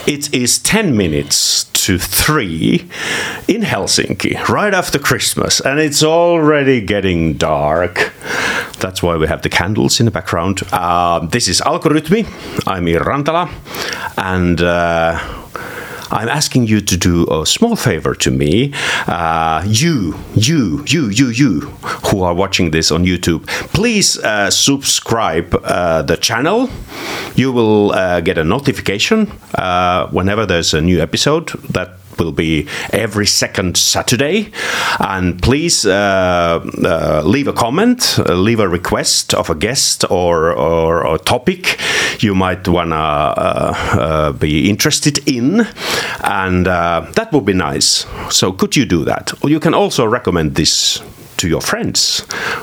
It is 10 minutes to 3 in Helsinki, right after Christmas, and it's already getting dark. That's why we have the candles in the background. This is Algoritmi. I'm Iiro Rantala, and I'm asking you to do a small favor to me. You who are watching this on YouTube, please subscribe the channel. You will get a notification whenever there's a new episode. That will be every second Saturday. And please leave a comment, leave a request of a guest or a topic you might want to be interested in. And that would be nice. So could you do that? Or you can also recommend this to your friends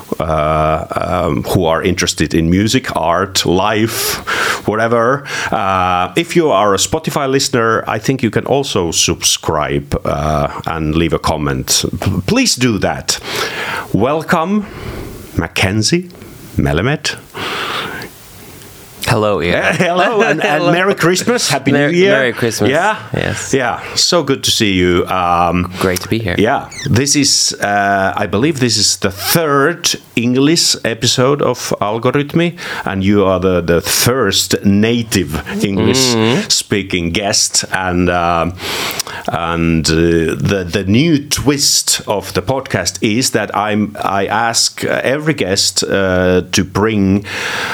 who are interested in music, art, life, whatever. If you are a Spotify listener, I think you can also subscribe and leave a comment. Please do that. Welcome, Mackenzie, Melamed. Hello, Iiro. Hello, and Merry Christmas. Happy New Year. Merry Christmas. Yeah? Yes. Yeah, so good to see you. Great to be here. Yeah, this is, I believe this is the third English episode of Algoritmi, and you are the first native English-speaking guest, and the new twist of the podcast is that I ask every guest to bring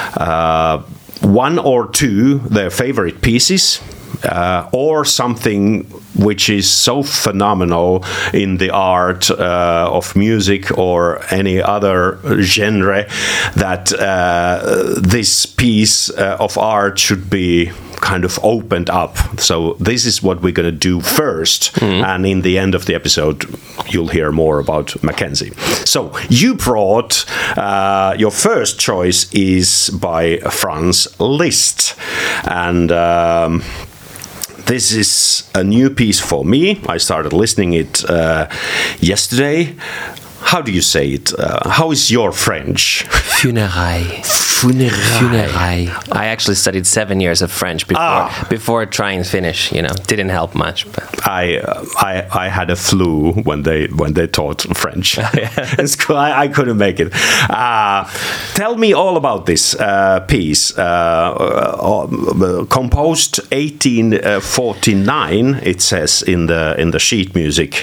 one or two their favorite pieces or something which is so phenomenal in the art of music or any other genre that this piece of art should be kind of opened up. So this is what we're going to do first, and in the end of the episode you'll hear more about Mackenzie. So you brought your first choice is by Franz Liszt, and this is a new piece for me. I started listening it yesterday. How do you say it? How is your French? Funérailles. Funérailles. I actually studied 7 years of French before trying to finish. Didn't help much. But I had a flu when they taught French in school. I couldn't make it. Tell me all about this piece. Composed 1849. It says in the sheet music.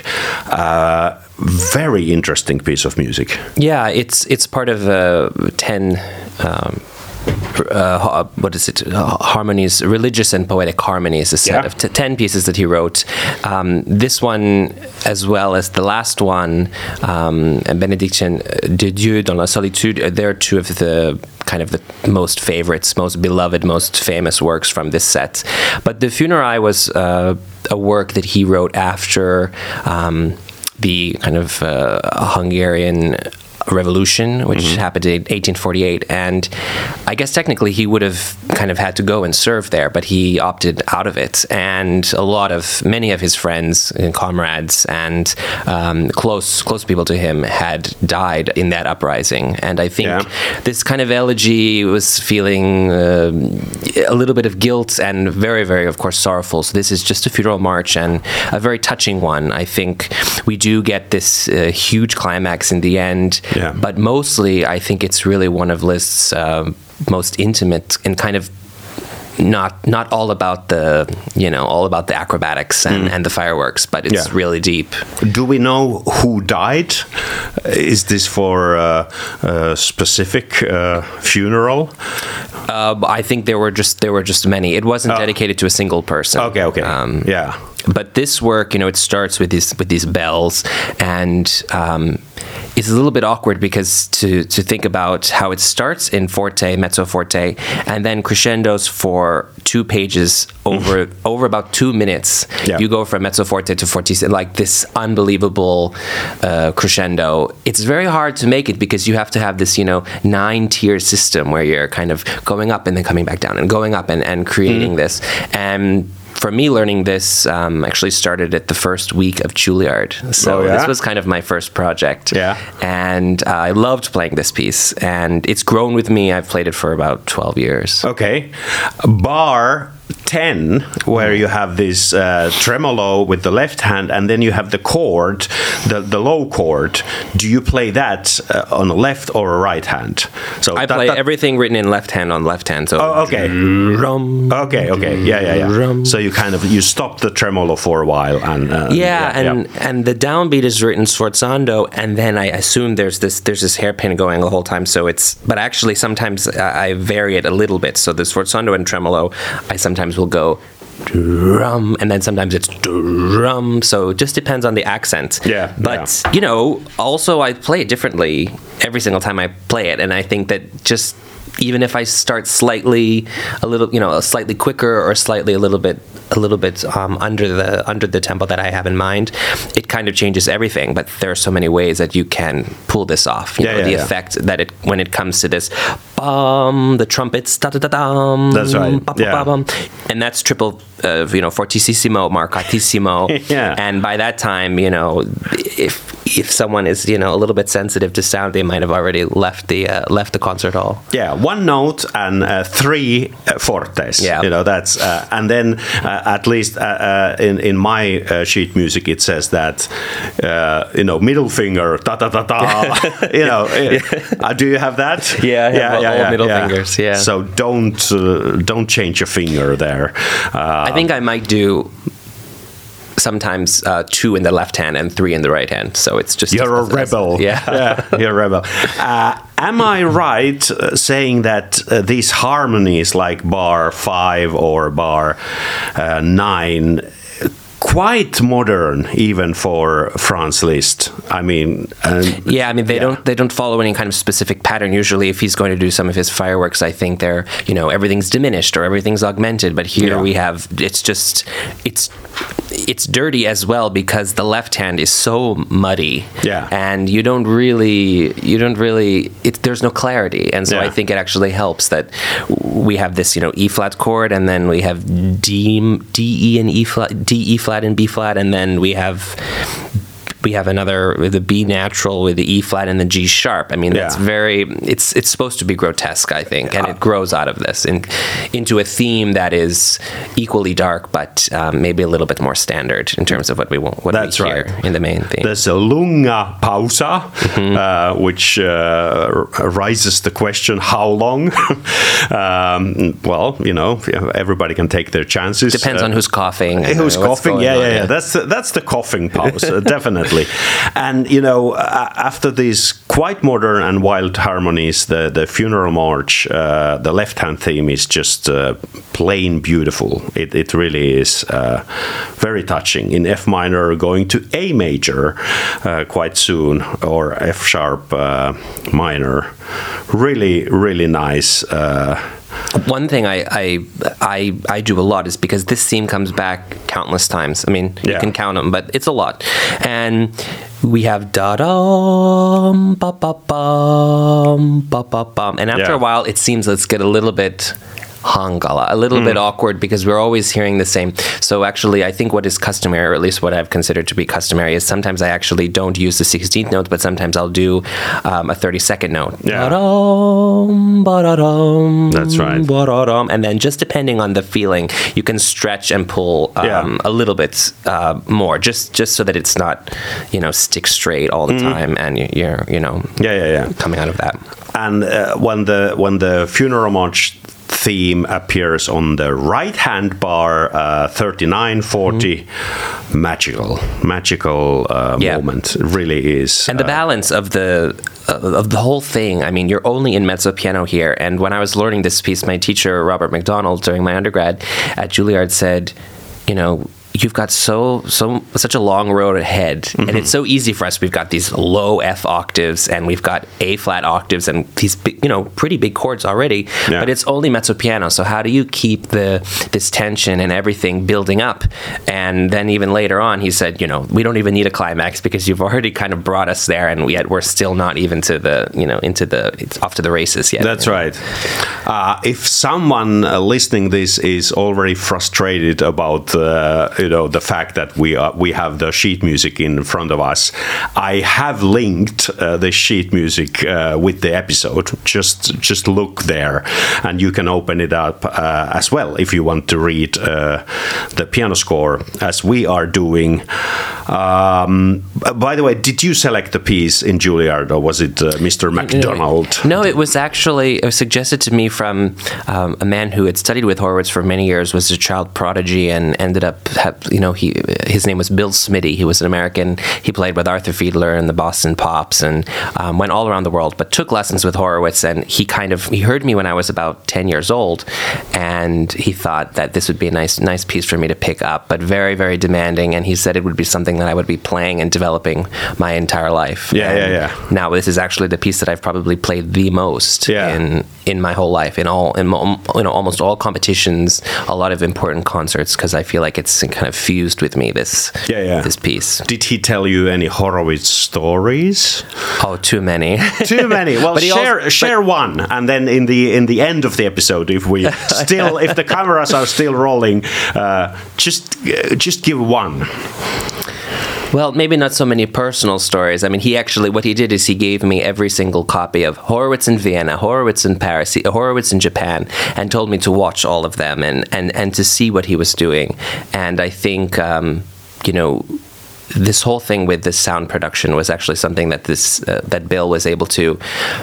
Very interesting piece of music. Yeah, it's part of 10 harmonies, religious and poetic harmonies, a set of 10 pieces that he wrote. This one, as well as the last one, Bénédiction de Dieu dans la solitude, they're two of the kind of the most favorites, most beloved, most famous works from this set. But the Funérailles was a work that he wrote after the kind of Hungarian Revolution, which happened in 1848, and I guess technically he would have kind of had to go and serve there, but he opted out of it, and many of his friends and comrades and close people to him had died in that uprising, and I think this kind of elegy was feeling a little bit of guilt and very, very, of course, sorrowful. So this is just a funeral march and a very touching one. I think we do get this huge climax in the end. Yeah. But mostly, I think it's really one of Liszt's most intimate and kind of not all about the acrobatics and the fireworks, but it's really deep. Do we know who died? Is this for a specific funeral? I think there were just many. It wasn't dedicated to a single person. Okay. But this work, it starts with these bells, and it's a little bit awkward because to think about how it starts in forte, mezzo forte, and then crescendos for 2 pages over about 2 minutes. Yeah. You go from mezzo forte to fortissimo, like this unbelievable crescendo. It's very hard to make it because you have to have this 9-tier system where you're kind of going up and then coming back down and going up and creating this. And for me, learning this actually started at the first week of Juilliard. So this was kind of my first project. Yeah. And I loved playing this piece. And it's grown with me. I've played it for about 12 years. Okay. Bar 10, where you have this tremolo with the left hand, and then you have the chord, the low chord. Do you play that on the left or a right hand? So I play everything written in left hand on left hand. So okay. Okay. Yeah. So you stop the tremolo for a while, and and the downbeat is written sforzando, and then I assume there's this hairpin going the whole time. So but actually sometimes I vary it a little bit. So the sforzando and tremolo, I sometimes will go drum, and then sometimes it's drum. So it just depends on the accent. Yeah. But also I play it differently every single time I play it, and I think that just even if I start slightly quicker or slightly a little bit under the tempo that I have in mind, it kind of changes everything. But there are so many ways that you can pull this off. The effect that when it comes to this bum, the trumpets, da da da dum. That's right. And that's triple, fortissimo, marcatissimo. And by that time, if someone is a little bit sensitive to sound, they might have already left the concert hall. Yeah, one note and 3 fortes. Yeah, that's and then at least in my sheet music it says that middle finger ta ta ta ta. Do you have that? Yeah, middle fingers. Yeah. So don't change your finger there. I think I might do sometimes 2 in the left hand and 3 in the right hand. So it's just you're a rebel. Yeah, you're a rebel. Am I right saying that these harmonies like bar 5 or bar 9 quite modern even for Franz Liszt? I mean, they don't follow any kind of specific pattern. Usually, if he's going to do some of his fireworks, I think they're everything's diminished or everything's augmented. But here we have it's dirty as well because the left hand is so muddy. Yeah, and you don't really there's no clarity, and so I think it actually helps that we have this E flat chord, and then we have D, E, and E flat, D, E flat, and B flat, and then we have another with the B natural with the E flat and the G sharp. I mean, that's it's supposed to be grotesque, I think, and it grows out of this into a theme that is equally dark, but maybe a little bit more standard in terms of what we hear in the main theme. There's a lunga pausa, which raises the question, how long? Everybody can take their chances. Depends on who's coughing. Who's coughing? Yeah. That's the coughing pause, definitely. And after these quite modern and wild harmonies, the funeral march, the left-hand theme is just plain beautiful. It really is very touching. In F minor, going to A major quite soon, or F sharp minor. Really, really nice. One thing I do a lot is because this theme comes back countless times. I mean, you can count them, but it's a lot. And we have da-dum, ba-ba-bum, ba-ba-bum. And after a while, it seems let's get a little bit hankala, a little bit awkward because we're always hearing the same. So actually, I think what is customary, or at least what I've considered to be customary, is sometimes I actually don't use the 16th note, but sometimes I'll do a 32nd note. Yeah. Ba-dum, ba-da-dum, that's right. Ba-da-dum. And then just depending on the feeling, you can stretch and pull a little bit more, just so that it's not, stick straight all the time, and you're coming out of that. And when the funeral march theme appears on the right hand bar 39, 40, magical moment. It really is. And the balance of the whole thing, I mean, you're only in mezzo piano here. And when I was learning this piece, my teacher, Robert McDonald, during my undergrad at Juilliard said, you've got such a long road ahead, and it's so easy for us. We've got these low F octaves, and we've got A flat octaves, and these big, pretty big chords already. Yeah. But it's only mezzo piano. So how do you keep this tension and everything building up? And then even later on, he said, we don't even need a climax because you've already kind of brought us there, and yet we're still not even to the it's off to the races yet. That's right. If someone listening this is already frustrated about the fact that we have the sheet music in front of us. I have linked the sheet music with the episode. Just look there, and you can open it up as well if you want to read the piano score as we are doing. By the way, did you select the piece in Juilliard, or was it Mr. MacDonald? No, it was suggested to me from a man who had studied with Horowitz for many years, was a child prodigy, and ended up, his name was Bill Smitty. He was an American. He played with Arthur Fiedler and the Boston Pops, and went all around the world, but took lessons with Horowitz. And he heard me when I was about 10 years old, and he thought that this would be a nice piece for me to pick up, but very, very demanding. And he said it would be something that I would be playing and developing my entire life. Yeah. Now this is actually the piece that I've probably played the most in my whole life, in almost all competitions, a lot of important concerts, because I feel like it's kind of fused with me, this piece. Did he tell you any Horowitz stories? Oh, too many. Too many. Well, share one, and then in the end of the episode, if the cameras are still rolling, just give one. Well, maybe not so many personal stories. I mean, what he did is he gave me every single copy of Horowitz in Vienna, Horowitz in Paris, Horowitz in Japan, and told me to watch all of them and to see what he was doing. And I think, this whole thing with this sound production was actually something that that Bill was able to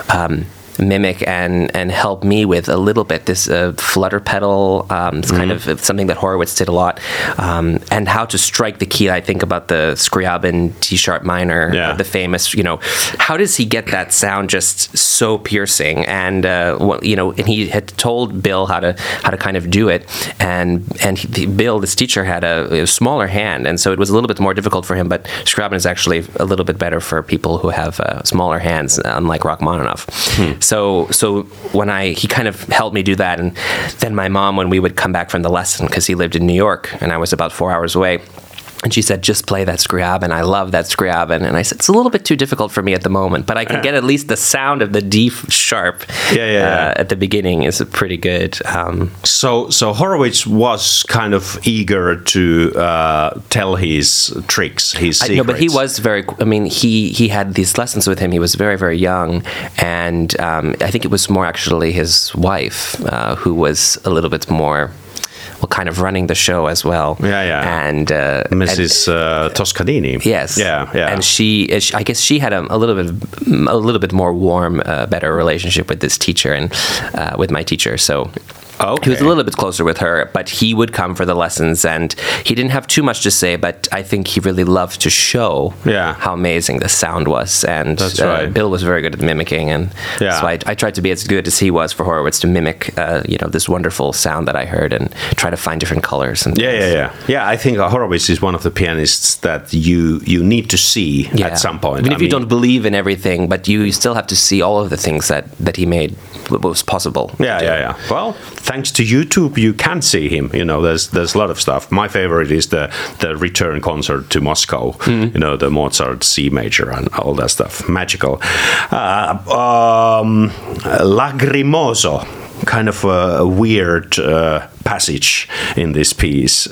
mimic and help me with a little bit. This flutter pedal, it's kind of something that Horowitz did a lot, and how to strike the key. I think about the Scriabin D-sharp minor, the famous, how does he get that sound just so piercing? And and he had told Bill how to kind of do it, and Bill, this teacher, had a smaller hand, and so it was a little bit more difficult for him, but Scriabin is actually a little bit better for people who have smaller hands, unlike Rachmaninoff. So when he kind of helped me do that, and then my mom, when we would come back from the lesson, because he lived in New York and I was about 4 hours away, and she said, just play that Scriabin. I love that Scriabin. And I said, it's a little bit too difficult for me at the moment, but I can get at least the sound of the D sharp at the beginning is pretty good. So Horowitz was kind of eager to tell his tricks, his secrets. No, but he was he had these lessons with him. He was very, very young. And I think it was more actually his wife who was a little bit more kind of running the show as well. And Mrs. Toscanini. Yes. Yeah. And I guess she had a little bit more warm, better relationship with this teacher and with my teacher. So he was a little bit closer with her, but he would come for the lessons, and he didn't have too much to say, but I think he really loved to show how amazing the sound was. And that's right. Bill was very good at mimicking, and so I tried to be as good as he was for Horowitz, to mimic this wonderful sound that I heard and try to find different colors. And yeah, I think Horowitz is one of the pianists that you need to see at some point. Even if you don't believe in everything, but you still have to see all of the things that he made was possible. Yeah. Well, thanks to YouTube, you can see him. There's a lot of stuff. My favorite is the return concert to Moscow. The Mozart C major and all that stuff. Magical. Lagrimoso, kind of a weird passage in this piece.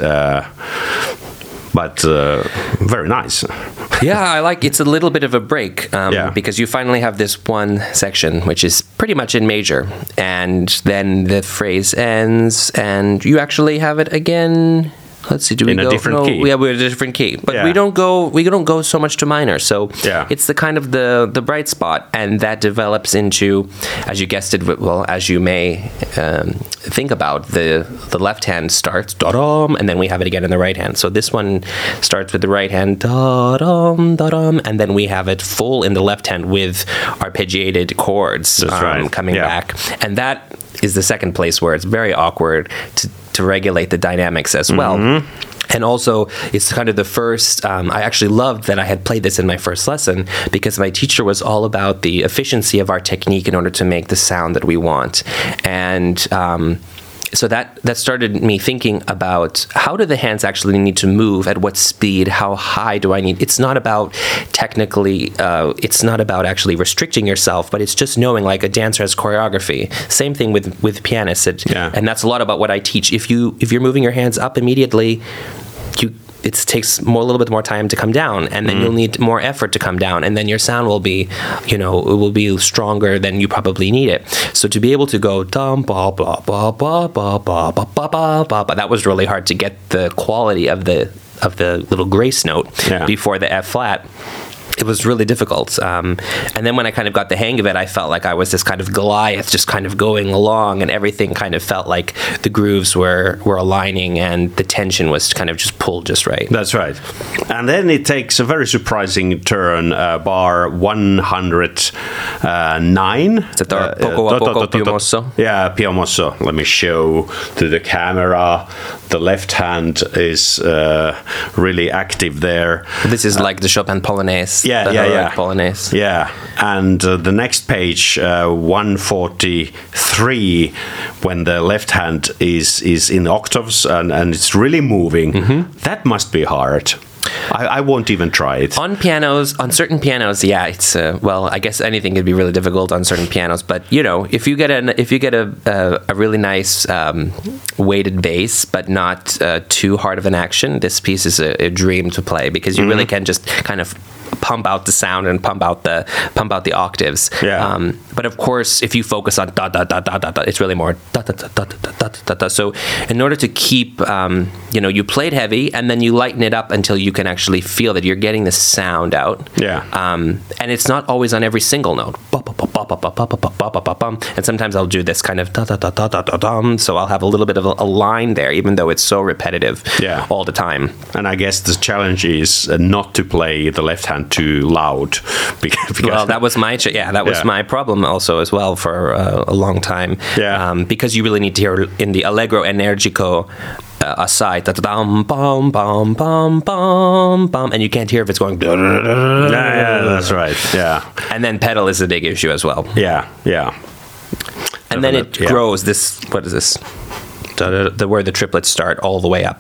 But very nice. It's a little bit of a break because you finally have this one section which is pretty much in major, and then the phrase ends and you actually have it again. Let's see, a different key? Yeah, we're in a different key, but we don't go so much to minor. So it's the kind of the bright spot, and that develops into, as you guessed it, as you may think about, the left hand starts da-dum, and then we have it again in the right hand. So this one starts with the right hand da-dum, da-dum, and then we have it full in the left hand with arpeggiated chords coming back, and that is the second place where it's very awkward to regulate the dynamics as well. And also, it's kind of the first, I actually loved that I had played this in my first lesson, because my teacher was all about the efficiency of our technique in order to make the sound that we want. And so that started me thinking about, how do the hands actually need to move, at what speed, how high do I need? It's not about technically, it's not about actually restricting yourself, but it's just knowing, like a dancer has choreography. Same thing with pianists, and that's a lot about what I teach. If you're moving your hands up immediately, it takes a little bit more time to come down, and then you'll need more effort to come down, and then your sound will be, it will be stronger than you probably need it. So to be able to go dum ba ba ba ba ba ba ba ba ba ba, that was really hard to get the quality of the little grace note before the F flat. It was really difficult. And then when I kind of got the hang of it, I felt like I was this kind of Goliath just kind of going along, and everything kind of felt like the grooves were aligning and the tension was kind of just pulled just right. That's right. And then it takes a very surprising turn, bar 109. Is it poco più mosso? Yeah, più mosso. Let me show to the camera. The left hand is really active there. This is like the Chopin Polonaise. Yeah. Polonaise. Yeah, and the next page, 143, when the left hand is in octaves and it's really moving. That must be hard. I won't even try it. On certain pianos, yeah, it's I guess anything could be really difficult on certain pianos. But if you get a really nice weighted bass, but not too hard of an action, this piece is a dream to play, because you really can just kind of pump out the sound and pump out the octaves. Yeah. But of course, if you focus on da da da da da da, it's really more da da da da da da da da. So in order to keep, you play it heavy and then you lighten it up until you can actually feel that you're getting the sound out. Yeah. And it's not always on every single note. And sometimes I'll do this kind of da da da da da da dum. So I'll have a little bit of a line there, even though it's so repetitive all the time. And I guess the challenge is not to play the left hand too loud. Well, that was my my problem also as well for a long time. Yeah. Because you really need to hear in the allegro energico aside, bum bum bum bum bum bum, and you can't hear if it's going. Yeah, that's right. Yeah. And then pedal is a big issue as well. Yeah. And then it grows. This, what is this? Where the triplets start all the way up.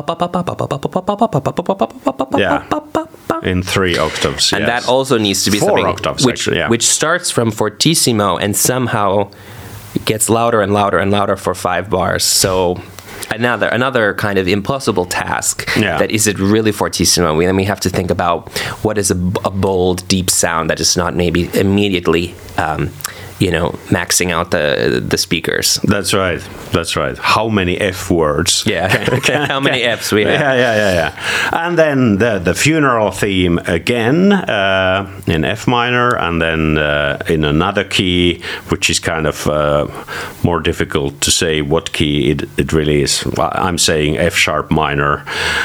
Yeah. In 3 octaves. And that also needs to be 4 something octaves, which starts from fortissimo and somehow gets louder and louder and louder for 5 bars. So another kind of impossible task. That is it really fortissimo? Then we have to think about what is a bold, deep sound that is not maybe immediately maxing out the speakers. That's right. How many F words? Yeah. How many Fs we have? Yeah. And then the funeral theme again in F minor, and then in another key, which is kind of more difficult to say what key it really is. I'm saying F sharp minor.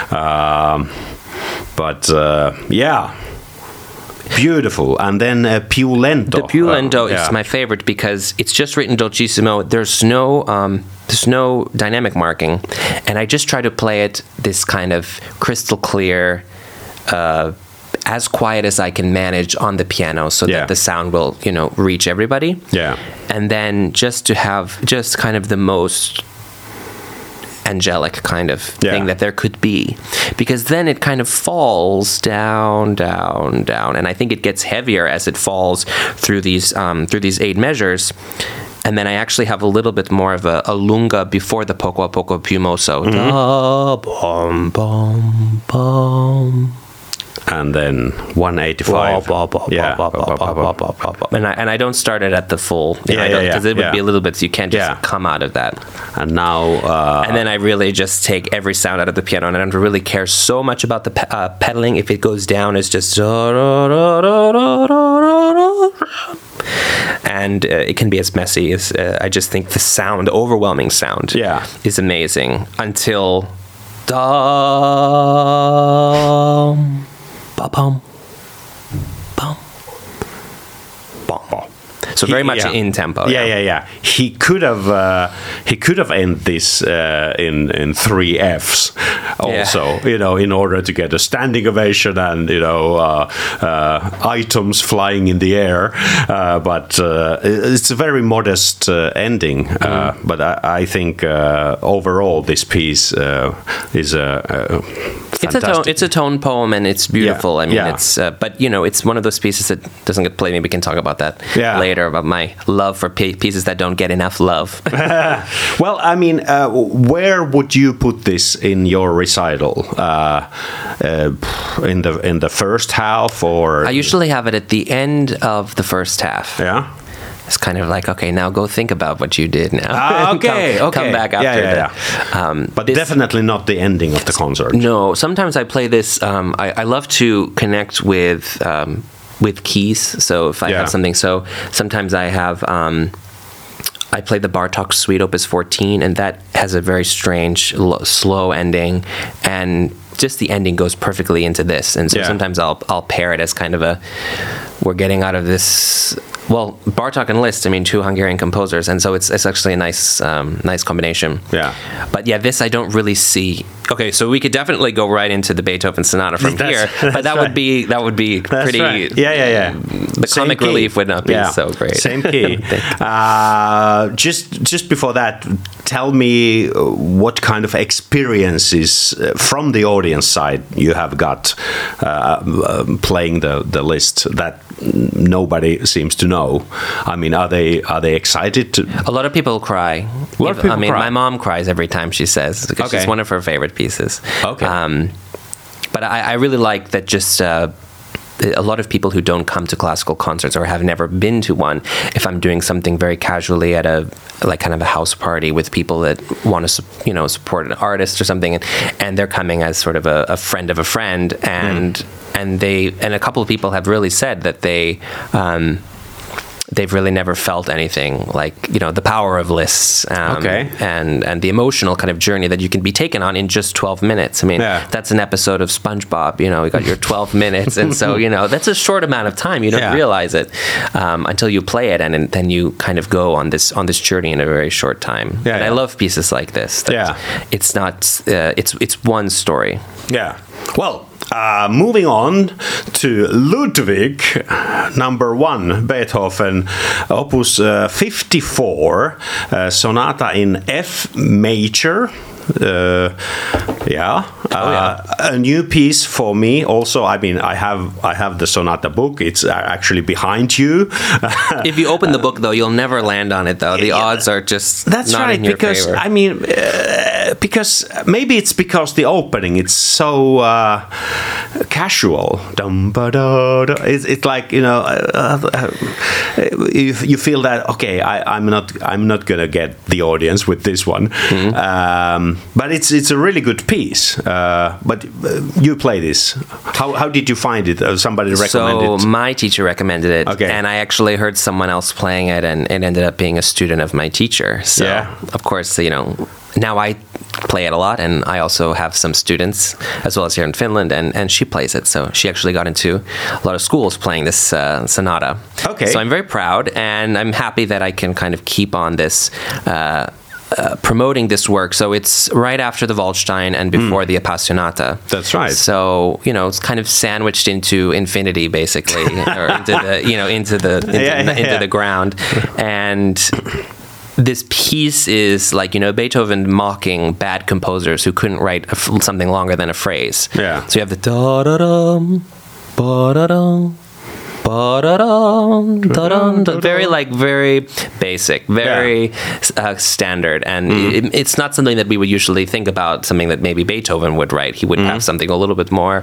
Beautiful. And then più lento. The più lento is my favorite because it's just written dolcissimo. There's no dynamic marking, and I just try to play it this kind of crystal clear, as quiet as I can manage on the piano, so that the sound will reach everybody. Yeah. And then just to have just kind of the most angelic kind of thing that there could be, because then it kind of falls down, and I think it gets heavier as it falls through these 8 measures. And then I actually have a little bit more of a lunga before the poco a poco più mosso. Da, bum, bum, bum. And then 185. And I don't start it at the full. Because it would be a little bit, so you can't just come out of that. And now... and then I really just take every sound out of the piano, and I don't really care so much about the pedaling. If it goes down, it's just... And it can be as messy as... I just think the sound, overwhelming sound, is amazing. Until... Bum, bum, bum. So very much in tempo. Yeah. He could have ended this in 3 Fs also. In order to get a standing ovation and items flying in the air. But it's a very modest ending. But I think overall this piece is a fantastic. It's a tone poem, and it's beautiful. I mean, Yeah. it's but it's one of those pieces that doesn't get played. Maybe we can talk about that later, about my love for pieces that don't get enough love. Well, I mean, where would you put this in your recital? In the first half, or I usually have it at the end of the first half. Yeah. It's kind of like, okay, now go think about what you did now. Okay, come back after that. But definitely not the ending of the concert. No, sometimes I play this. I love to connect with keys. So if I have something, so sometimes I have. I play the Bartók Suite Opus 14, and that has a very strange, slow ending, and just the ending goes perfectly into this. And so sometimes I'll pair it as kind of we're getting out of this. Well, Bartók and Liszt, I mean, two Hungarian composers, and so it's actually a nice combination. Yeah. But this I don't really see. Okay, so we could definitely go right into the Beethoven Sonata from here, but that would be pretty. Right. Yeah. The comic relief would not be so great. Same key. Just before that, tell me what kind of experiences from the audience side you have got playing the Liszt that nobody seems to know. I mean, are they excited? A lot of people cry. My mom cries every time she says, because it's one of her favorite pieces. Okay. But I really like that just a lot of people who don't come to classical concerts or have never been to one, if I'm doing something very casually at a kind of a house party with people that want to support an artist or something, and they're coming as sort of a friend of a friend, and a couple of people have really said that they've really never felt anything like the power of Liszt, and the emotional kind of journey that you can be taken on in just 12 minutes. I mean, that's an episode of SpongeBob. You got your 12 minutes, and so that's a short amount of time. You don't realize it until you play it, and then you kind of go on this journey in a very short time. I love pieces like this. It's not. It's one story. Yeah. Well. Moving on to Ludwig, number 1, Beethoven, Opus 54, Sonata in F major. A new piece for me also. I mean, I have the sonata book. It's actually behind you. If you open the book, though, you'll never land on it, though. The odds are just not in your favor. I mean, because maybe it's because the opening, it's so casual. It's like, you feel that, okay, I'm not gonna get the audience with this one. But it's a really good piece. But you play this. How did you find it? Somebody recommended it? So my teacher recommended it, okay. And I actually heard someone else playing it, and it ended up being a student of my teacher. So of course, now I play it a lot, and I also have some students as well as here in Finland, and she plays it. So she actually got into a lot of schools playing this sonata. Okay. So I'm very proud, and I'm happy that I can kind of keep on this promoting this work. So it's right after the Waldstein and before the Appassionata. That's right. So it's kind of sandwiched into infinity, basically, or into the ground, and this piece is like, Beethoven mocking bad composers who couldn't write something longer than a phrase. Yeah. So you have the da-da-dum, ba-da-dum, ba-da-dum, da-dum, very basic, very standard, and it's not something that we would usually think about, something that maybe Beethoven would write. He would have something a little bit more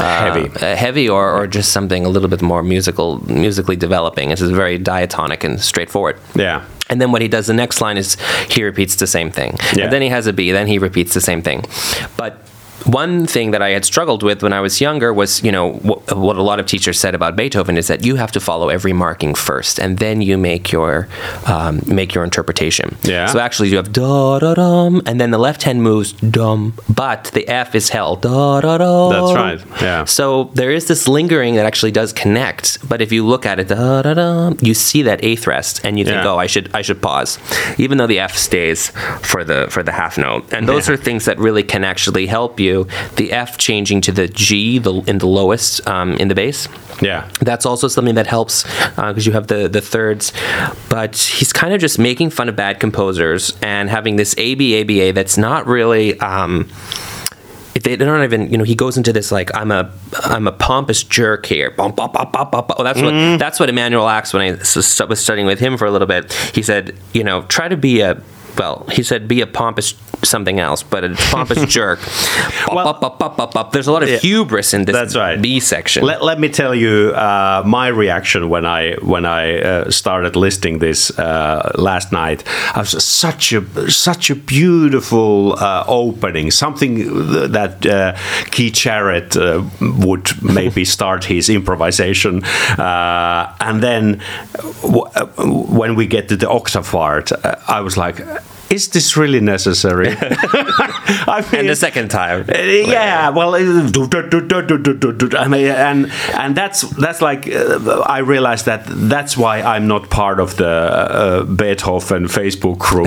heavy, or just something a little bit more musically developing. It's very diatonic and straightforward. Yeah. And then what he does, the next line is he repeats the same thing. Yeah. And then he has a B, then he repeats the same thing. But one thing that I had struggled with when I was younger was, what a lot of teachers said about Beethoven is that you have to follow every marking first, and then you make your interpretation. Yeah. So actually, you have da da dum, and then the left hand moves dum, but the F is held da da da. That's right. Yeah. So there is this lingering that actually does connect, but if you look at it da da da, you see that eighth rest, and you think, I should pause, even though the F stays for the half note, and those are things that really can actually help you. The F changing to the G in the lowest in the bass. Yeah. That's also something that helps because you have the thirds. But he's kind of just making fun of bad composers and having this ABA that's not really... they don't even, he goes into this like, I'm a pompous jerk here. Bum, bum, bum, bum, bum, bum. That's what Emanuel Ax, when I was studying with him for a little bit, he said, try to be be a pompous something else, but a pompous jerk. There's a lot of hubris in this B section. Let me tell you my reaction when I started listing this last night. I was such a beautiful opening, something that Keith Jarrett would maybe start his improvisation, and then when we get to the octave part, I was like, is this really necessary? I mean, and the second time, yeah. Well, I mean, and that's like I realized that's why I'm not part of the Beethoven Facebook group.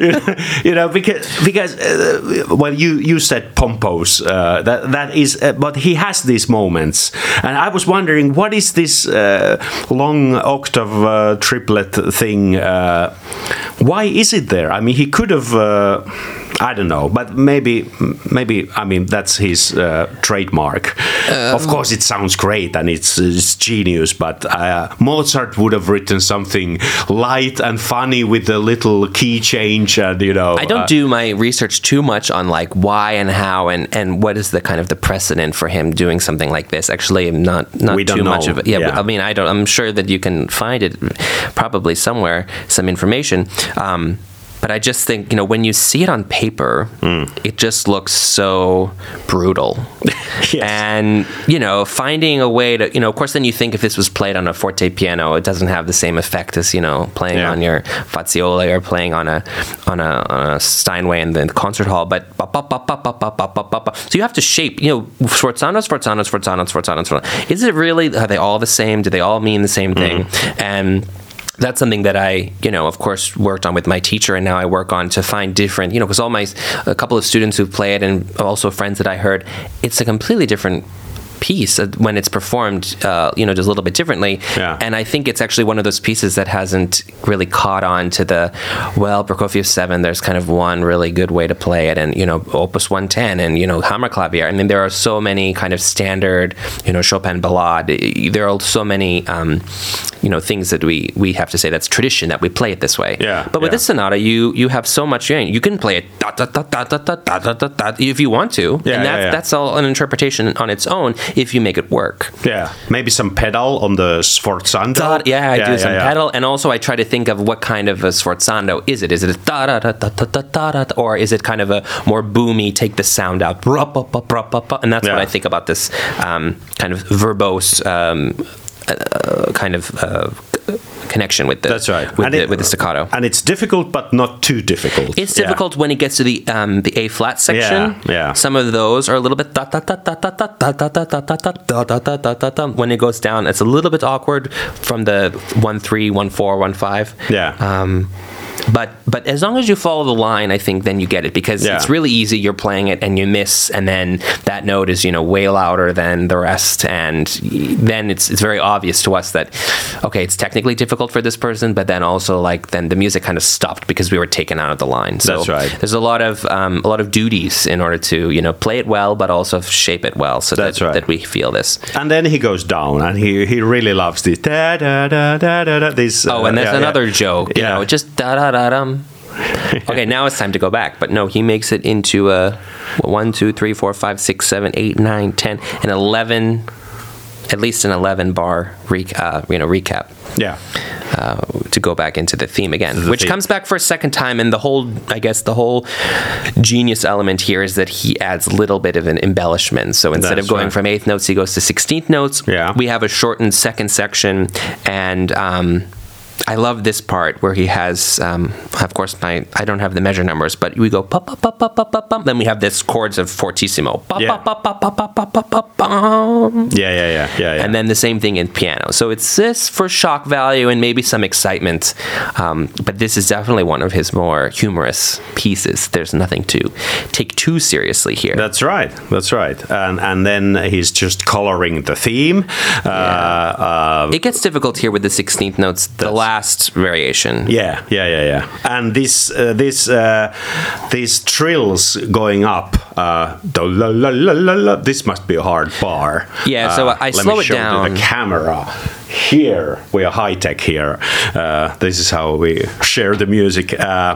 because well, you said pompous. That is, but he has these moments, and I was wondering what is this long octave triplet thing? Why is it there? I mean, he could have, I don't know, but maybe, I mean, that's his trademark. Of course, it sounds great and it's genius, but Mozart would have written something light and funny with a little key change, and I don't do my research too much on like why and how and what is the kind of the precedent for him doing something like this. Actually, I'm not too much of it. Yeah, I mean, I'm sure that you can find it probably somewhere, some information. But I just think, when you see it on paper, it just looks so brutal. Yes. And, finding a way to, of course, then you think if this was played on a forte piano, it doesn't have the same effect as, playing on your Fazioli or playing on a Steinway in the concert hall. But so you have to shape, sforzando. Is it really, are they all the same? Do they all mean the same thing? And that's something that I, of course, worked on with my teacher, and now I work on to find different, because a couple of students who play it and also friends that I heard, it's a completely different piece when it's performed, just a little bit differently. Yeah. And I think it's actually one of those pieces that hasn't really caught on to Prokofiev 7, there's kind of one really good way to play it, and, Opus 110 and, Hammerklavier. I mean, there are so many kind of standard, Chopin ballade. There are so many, things that we have to say that's tradition that we play it this way. Yeah. But with this sonata, you have so much, you can play it if you want to. Yeah, and that's all an interpretation on its own, if you make it work. Yeah, maybe some pedal on the sforzando. I do some pedal, and also I try to think of what kind of a sforzando is it? Is it a da da da da da da da, or is it kind of a more boomy, take the sound out, and that's what I think about this kind of verbose kind of connection with the that's right with the staccato, and it's difficult but not too difficult. It's difficult when it gets to the A flat section. Some of those are a little bit when it goes down. It's a little bit awkward from the 1-3, 1-4, 1-5. But as long as you follow the line, I think then you get it, because it's really easy. You're playing it and you miss, and then that note is way louder than the rest, and then it's very obvious to us that okay, it's technically difficult for this person, but then also then the music kind of stopped because we were taken out of the line. So that's right. There's a lot of duties in order to play it well, but also shape it well, so that we feel this. And then he goes down, and he really loves this da da da da da. This and there's another joke, just da da da dum. Okay, now it's time to go back, but no, he makes it into a 1, 2, 3, 4, 5, 6, 7, 8, 9, 10, and 11. At least an 11 bar recap. Yeah. To go back into the theme again, which comes back for a second time, and the whole genius element here is that he adds a little bit of an embellishment. So instead of going from 8th notes, he goes to 16th notes. Yeah. We have a shortened second section, and I love this part where he has, of course, I don't have the measure numbers, but we go pop, pop, pop, pop, pop, pop, pop. Then we have this chords of fortissimo. Pop, pop, pop, pop, pop, pop, pop, pop, pop, pop. Yeah. And then the same thing in piano. So it's this for shock value and maybe some excitement. But this is definitely one of his more humorous pieces. There's nothing to take too seriously here. That's right. And then he's just coloring the theme. It gets difficult here with the 16th notes. The last last variation. Yeah. And these trills going up. This must be a hard bar. Yeah, so I slow it down. Let me show the camera. Here we are high tech here. This is how we share the music.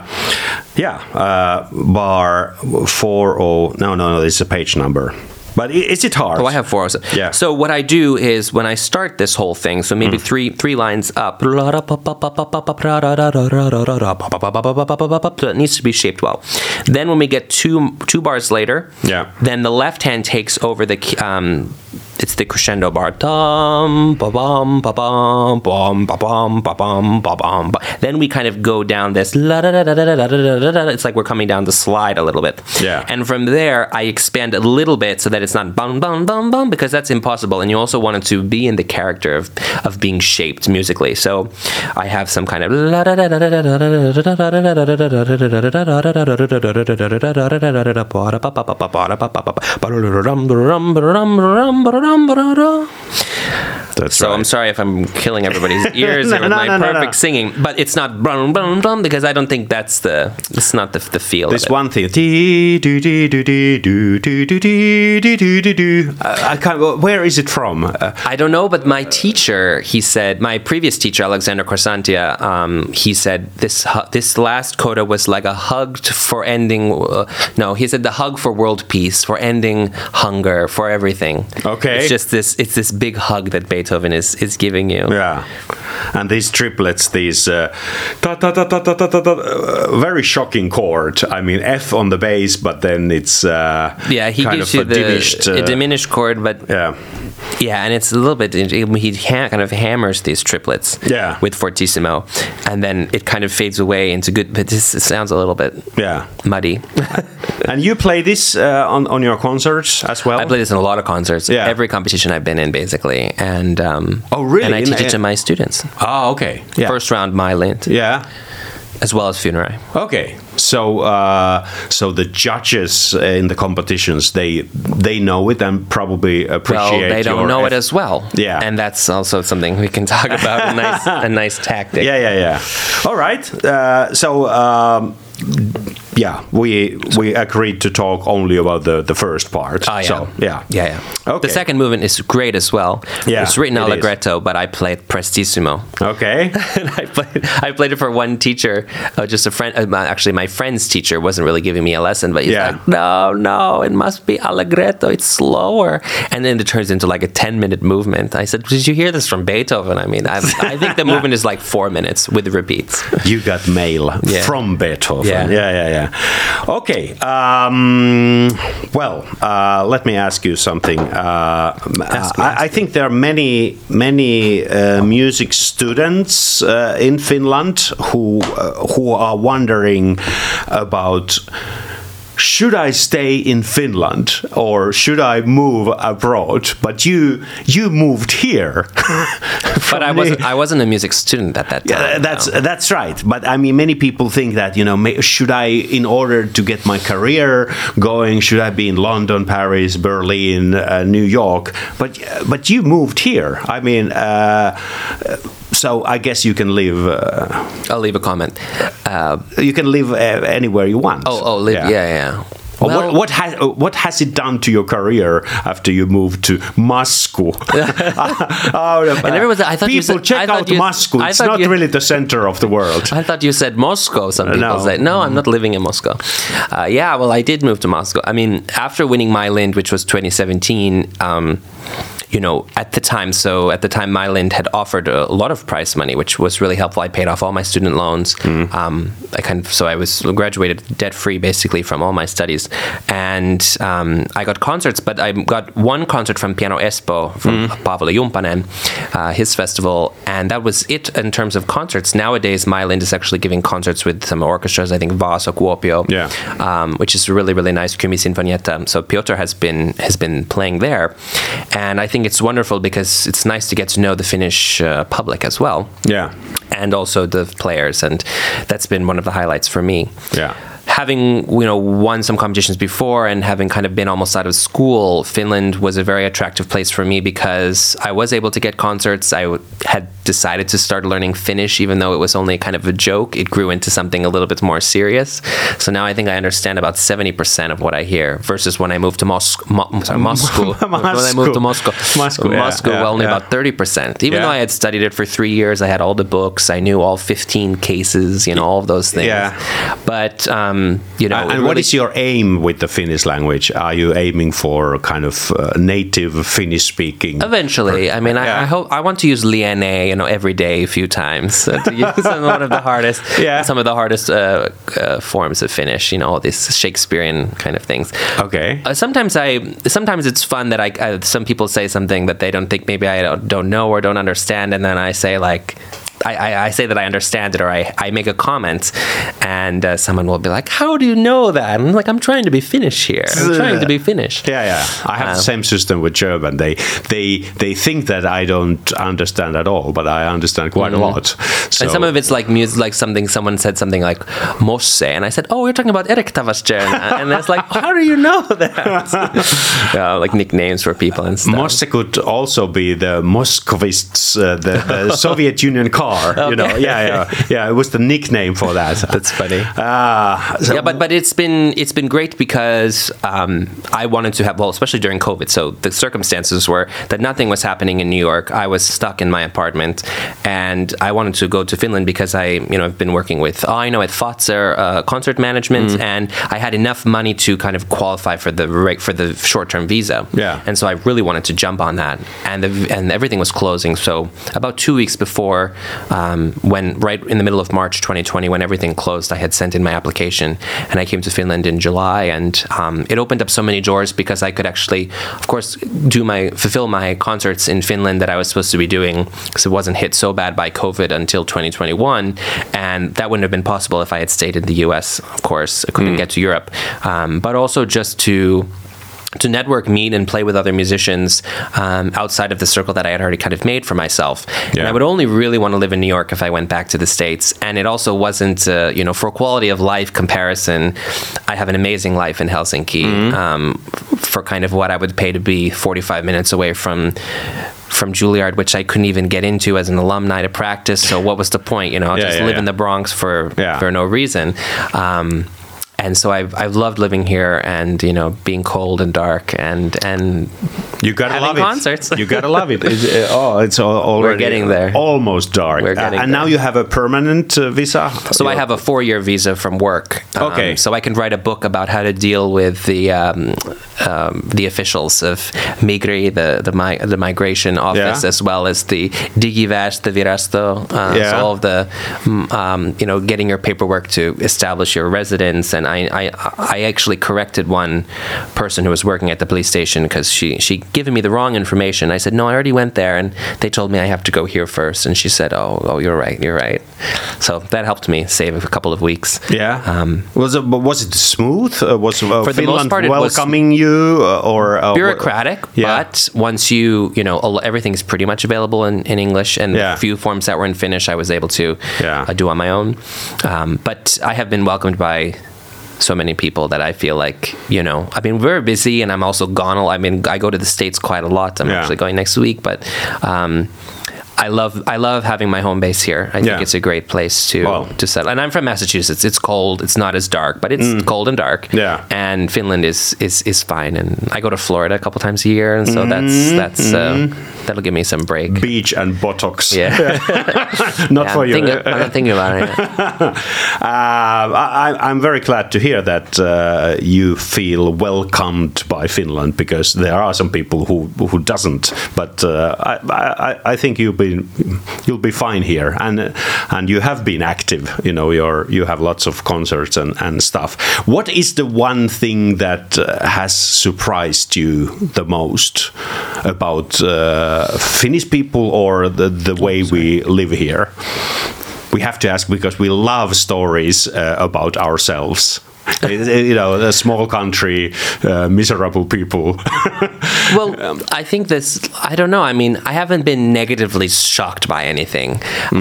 Bar 40. No. This is a page number. But is it hard? Oh, I have 4. Yeah. So what I do is when I start this whole thing, so maybe three lines up, so it needs to be shaped well. Then when we get two bars later, then the left hand takes over the it's the crescendo bar. Dum, ba bum, ba bum, bum, ba bum, ba bum, ba bum. Then we kind of go down this. It's like we're coming down the slide a little bit. Yeah. And from there, I expand a little bit so that it's not bum, bum, bum, bum, because that's impossible. And you also want it to be in the character of being shaped musically. So I have some kind of. That's so right. I'm sorry if I'm killing everybody's ears with my perfect singing, but it's not brum brum brum because I don't think it's not the feel. There's of it. one thing. I can't. Where is it from? I don't know, but my teacher, he said, my previous teacher, Alexander Korsantia, he said this last coda was like a hug for ending. He said the hug for world peace, for ending hunger, for everything. Okay. It's just this big hug that Beethoven is giving you. Yeah. And these triplets, these very shocking chord. I mean, F on the bass, but then it's he kind gives of you a diminished chord, but and it's a little bit. He kind of hammers these triplets with fortissimo, and then it kind of fades away into good. But this sounds a little bit muddy. And you play this on your concerts as well? I play this in a lot of concerts. Yeah. Every competition I've been in, basically, and really? And I teach it to my students. Oh, okay. Yeah. First round, Mailand. Yeah. As well as Funerai. Okay, so the judges in the competitions they know it and probably appreciate. Well, they don't know it as well. Yeah, and that's also something we can talk about. A nice tactic. Yeah. All right. We agreed to talk only about the first part. Oh, yeah. So, yeah. Okay. The second movement is great as well. Yeah, it's written allegretto, but I played prestissimo. Okay. And I played it for one teacher, just a friend. Actually, my friend's teacher wasn't really giving me a lesson, but he's like, no, it must be allegretto. It's slower. And then it turns into like a 10-minute movement. I said, did you hear this from Beethoven? I mean, I think the movement is like 4 minutes with repeats. You got mail from Beethoven. Yeah. Okay. Let me ask you something. I think there are many music students in Finland who are wondering about, should I stay in Finland or should I move abroad? But you moved here. But I wasn't a music student at that time. Yeah, that's right. But I mean, many people think that, should I, in order to get my career going, should I be in London, Paris, Berlin, New York? But you moved here. I mean, so I guess you can live. I'll leave a comment. You can live anywhere you want. Live. Yeah. Well, what has it done to your career after you moved to Moscow? And everyone said, people check out Moscow. It's not really the center of the world. I thought you said Moscow. Some people say, no, I'm not living in Moscow. I did move to Moscow. I mean, after winning Mailand, which was 2017, at the time Mailand had offered a lot of prize money, which was really helpful. I paid off all my student loans. I was graduated debt-free basically from all my studies. And I got concerts, but I got one concert from Piano Espoo, from Paavali Jumpanen, his festival, and that was it in terms of concerts. Nowadays, Mailand is actually giving concerts with some orchestras, I think Vaasa, Kuopio, which is really, really nice, Kymi Sinfonietta. So Piotr has been playing there. And I think it's wonderful because it's nice to get to know the Finnish public as well. Yeah. And also the players. And that's been one of the highlights for me. Yeah. Having won some competitions before and having kind of been almost out of school, Finland was a very attractive place for me because I was able to get concerts. I had decided to start learning Finnish, even though it was only kind of a joke. It grew into something a little bit more serious. So now I think I understand about 70% of what I hear, versus when I moved to Moscow. When I moved to Moscow, only about 30%. Even though I had studied it for 3 years, I had all the books, I knew all 15 cases, all of those things. Yeah. But and really, what is your aim with the Finnish language? Are you aiming for kind of native Finnish speaking? Eventually, I mean, I hope I want to use liene, every day a few times to use some of the hardest forms of Finnish. All these Shakespearean kind of things. Okay. Sometimes it's fun that some people say something that they don't think maybe I don't know or don't understand, and then I say like. I say that I understand it, or I make a comment, and someone will be like, "How do you know that?" And I'm like, "I'm trying to be Finnish here. I'm trying to be Finnish." Yeah. I have the same system with German. They think that I don't understand at all, but I understand quite a lot. So. And some of it's like music, like someone said something like "Mosse," and I said, "Oh, you're talking about Erik Tavastjärna," and it's like, "How do you know that?" Like nicknames for people and stuff. Mosse could also be the Moscovists, the Soviet Union car. Okay. Yeah. It was the nickname for that. That's funny. But it's been great because I wanted to have, especially during COVID. So the circumstances were that nothing was happening in New York. I was stuck in my apartment, and I wanted to go to Finland because I've been working with at Fazer concert management, and I had enough money to kind of qualify for the short-term visa. Yeah. And so I really wanted to jump on that, and everything was closing. So about 2 weeks before. When right in the middle of March 2020, when everything closed, I had sent in my application, and I came to Finland in July, and it opened up so many doors because I could actually, of course, fulfill my concerts in Finland that I was supposed to be doing, because it wasn't hit so bad by COVID until 2021, and that wouldn't have been possible if I had stayed in the US. Of course, I couldn't get to Europe, but also just to network, meet, and play with other musicians outside of the circle that I had already kind of made for myself. Yeah. And I would only really want to live in New York if I went back to the States. And it also wasn't, for quality of life comparison, I have an amazing life in Helsinki for kind of what I would pay to be 45 minutes away from Juilliard, which I couldn't even get into as an alumni to practice. So what was the point? Live in the Bronx for no reason. And so I've loved living here, and being cold and dark, and you gotta love concerts. You gotta love it. It's already we're getting there. Almost dark. We're getting and there. Now you have a permanent visa. So I have a 4-year visa from work. Okay. So I can write a book about how to deal with the officials of Migri, the migration office, as well as the Digiväestövirasto. So all of the getting your paperwork to establish your residence. And I actually corrected one person who was working at the police station because she given me the wrong information. I said, no, I already went there, and they told me I have to go here first. And she said, oh, you're right. So that helped me save a couple of weeks. Yeah. Was it smooth? Was for the Finland most part, welcoming you or bureaucratic? But once everything's pretty much available in English, and the few forms that were in Finnish, I was able to do on my own. But I have been welcomed by so many people that I feel like, I've been very busy, and I'm also gone. I go to the States quite a lot. I'm actually going next week, but I love having my home base here. I think it's a great place to settle. And I'm from Massachusetts. It's cold. It's not as dark, but it's cold and dark. Yeah. And Finland is fine. And I go to Florida a couple times a year, and so that'll give me some break. Beach and Botox. Yeah. Not for you. I'm not thinking about it. I'm very glad to hear that you feel welcomed by Finland, because there are some people who doesn't. But I think you'll be fine here, and you have been active. You have lots of concerts and stuff. What is the one thing that has surprised you the most about Finnish people, or the way we live here? We have to ask because we love stories about ourselves. A small country, miserable people. Well, I think I don't know. I mean, I haven't been negatively shocked by anything.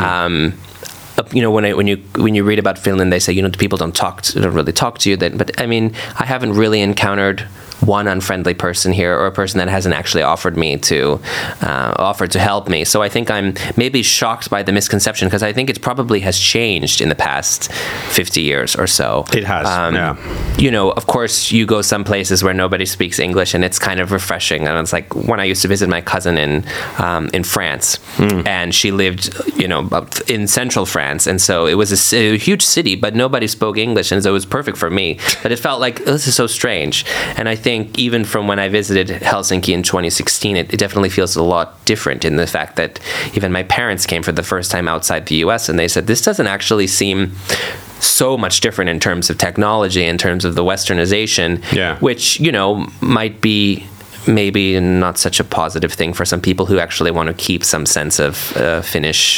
When you read about Finland, they say people don't really talk to you. But I mean, I haven't really encountered one unfriendly person here or a person that hasn't actually offered to help me. So I think I'm maybe shocked by the misconception, because I think it probably has changed in the past 50 years or so. It has, yeah. You know, of course, you go some places where nobody speaks English, and it's kind of refreshing. And it's like when I used to visit my cousin in France, and she lived, you know, in central France, and so it was a huge city, but nobody spoke English, and so it was perfect for me. But it felt like, this is so strange. And I think even from when I visited Helsinki in 2016, it definitely feels a lot different in the fact that even my parents came for the first time outside the US, and they said, this doesn't actually seem so much different in terms of technology, in terms of the westernization, which, you know, might be maybe not such a positive thing for some people who actually want to keep some sense of Finnish,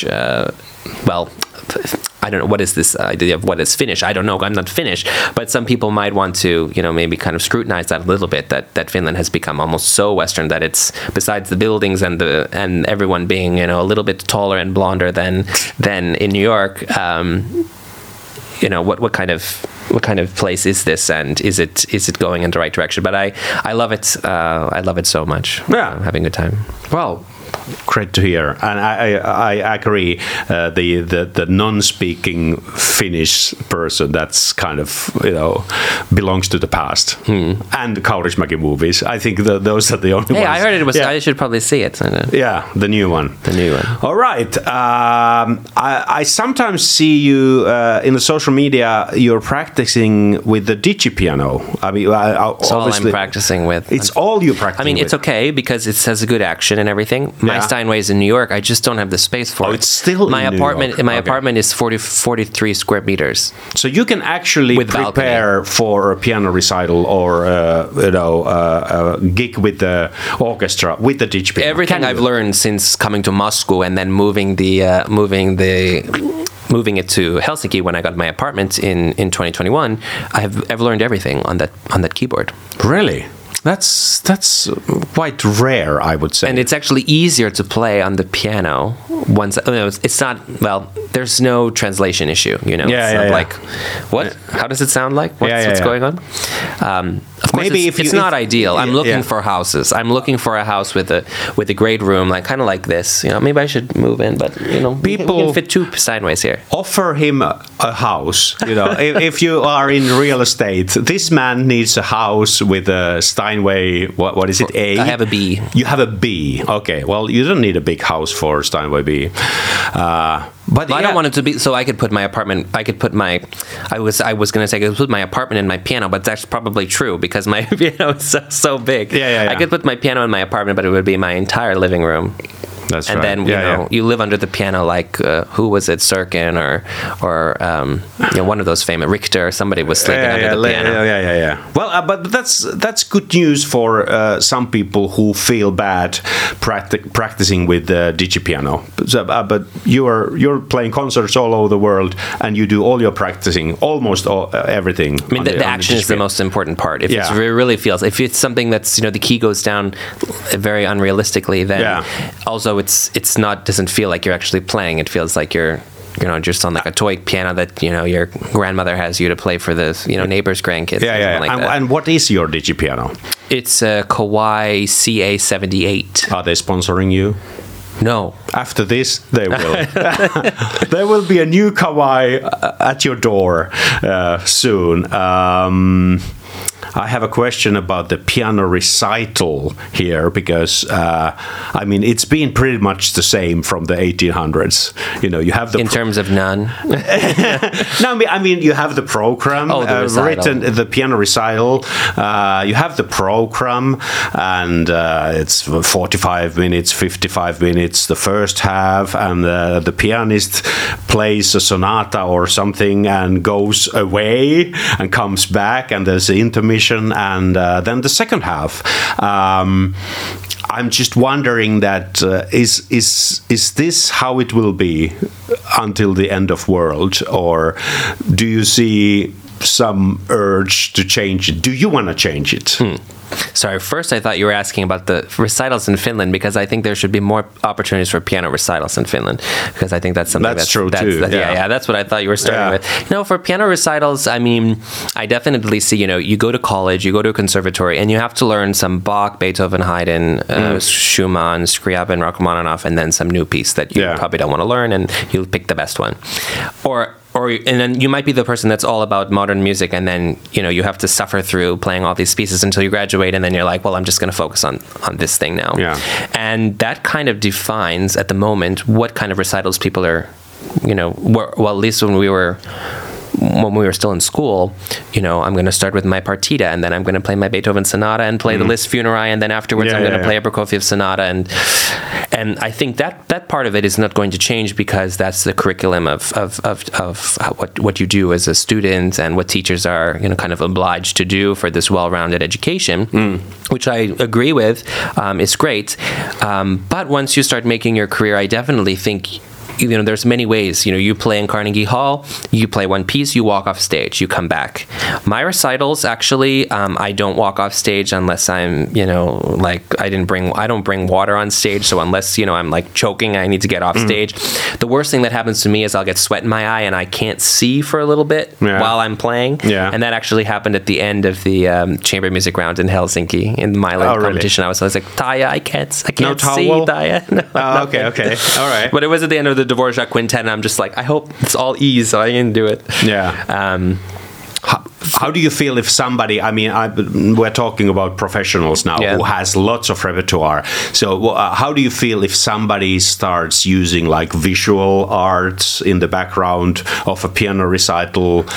I don't know, what is this idea of what is Finnish? I don't know, I'm not Finnish, but some people might want to, you know, maybe kind of scrutinize that a little bit, that Finland has become almost so Western that it's, besides the buildings and everyone being, you know, a little bit taller and blonder than in New York, you know, what kind of place is this, and is it going in the right direction? But I love it. I love it so much. Yeah, I'm having a good time. Well, great to hear, and I agree. The non-speaking Finnish person, that's kind of, you know, belongs to the past. And the Kaurismäki movies, I think those are the only ones. Hey, I heard it was. I should probably see it. Yeah, the new one. The new one. All right. I sometimes see you in the social media. You're practicing with the digipiano. I mean, it's all I'm practicing with. It's all you practice. I mean, it's okay because it has a good action and everything. My Steinways in New York, I just don't have the space for it. It's still my in apartment. New York. My apartment is 43 square meters. So you can actually prepare for a piano recital or a gig with the orchestra with the digipiano. Everything I've learned since coming to Moscow and then moving it to Helsinki when I got my apartment in 2021, I've learned everything on that keyboard. Really? That's quite rare, I would say. And it's actually easier to play on the piano once. It's not, well, there's no translation issue, you know. Like, what? How does it sound like? What's going on? Of course, maybe it's not ideal. I'm looking for houses. I'm looking for a house with a great room, like kind of like this. You know, maybe I should move in, but you know, people we can fit two Steinways here. Offer him a house. You know, if you are in real estate, this man needs a house with a Steinway. What is it? A? I have a B. You have a B. Okay. Well, you don't need a big house for Steinway B. But I don't want it to be so I could put my apartment. I could put my. I was going to say I could put my apartment in my piano, but that's probably true because my piano is so big. I could put my piano in my apartment, but it would be my entire living room. That's and right. then you live under the piano like who was it, Sirkin or one of those famous Richter. Somebody was sleeping under the piano. Yeah. Well, but that's good news for some people who feel bad practicing with the digipiano. But you're playing concerts all over the world, and you do all your practicing, almost everything. I mean, the action is the most important part. If it really feels, if it's something that's the key goes down very unrealistically, then also it's not doesn't feel like you're actually playing. It feels like you're just on like a toy piano that your grandmother has you to play for the neighbor's grandkids. And what is your digipiano? It's a Kawai CA78. Are they sponsoring you? No. After this, they will. There will be a new Kawai at your door soon. I have a question about the piano recital here because, it's been pretty much the same from the 1800s. You have the... In terms of none? No, I mean, you have the program written, the piano recital. You have the program, and it's 45 minutes, 55 minutes, the first half, and the pianist plays a sonata or something and goes away and comes back, and there's the intermission. And then the second half. I'm just wondering that is this how it will be until the end of world, or do you see some urge to change it. Do you want to change it? Sorry, first I thought you were asking about the recitals in Finland, because I think there should be more opportunities for piano recitals in Finland, because I think that's something that's true too. That's what I thought you were starting with. For piano recitals, I mean, I definitely see, you go to college, you go to a conservatory, and you have to learn some Bach, Beethoven, Haydn, Schumann, Scriabin, Rachmaninoff, and then some new piece that you probably don't want to learn, and you'll pick the best one. And then you might be the person that's all about modern music, and then you have to suffer through playing all these pieces until you graduate, and then you're like, well, I'm just going to focus on this thing now. Yeah. And that kind of defines at the moment what kind of recitals people are, well, at least when we were still in school, I'm going to start with my partita, and then I'm going to play my Beethoven sonata and play the Liszt Funerai, and then afterwards I'm going to play a Prokofiev sonata, and I think that part of it is not going to change, because that's the curriculum of what you do as a student, and what teachers are kind of obliged to do for this well-rounded education, which I agree with, is great, but once you start making your career, I definitely think there's many ways. You play in Carnegie Hall, you play one piece, you walk off stage, you come back. My recitals, actually, I don't walk off stage unless I'm, like I don't bring water on stage. So unless, I'm like choking, I need to get off stage. The worst thing that happens to me is I'll get sweat in my eye and I can't see for a little bit while I'm playing. Yeah. And that actually happened at the end of the chamber music round in Helsinki in the Milan competition. Really? I was like, Taya, I can't see, Taya. Okay. All right. But it was at the end of the Dvorak Quintet, and I'm just like, I hope it's all ease so I can do it. Yeah. How do you feel if somebody, we're talking about professionals now who has lots of repertoire. So how do you feel if somebody starts using like visual arts in the background of a piano recital?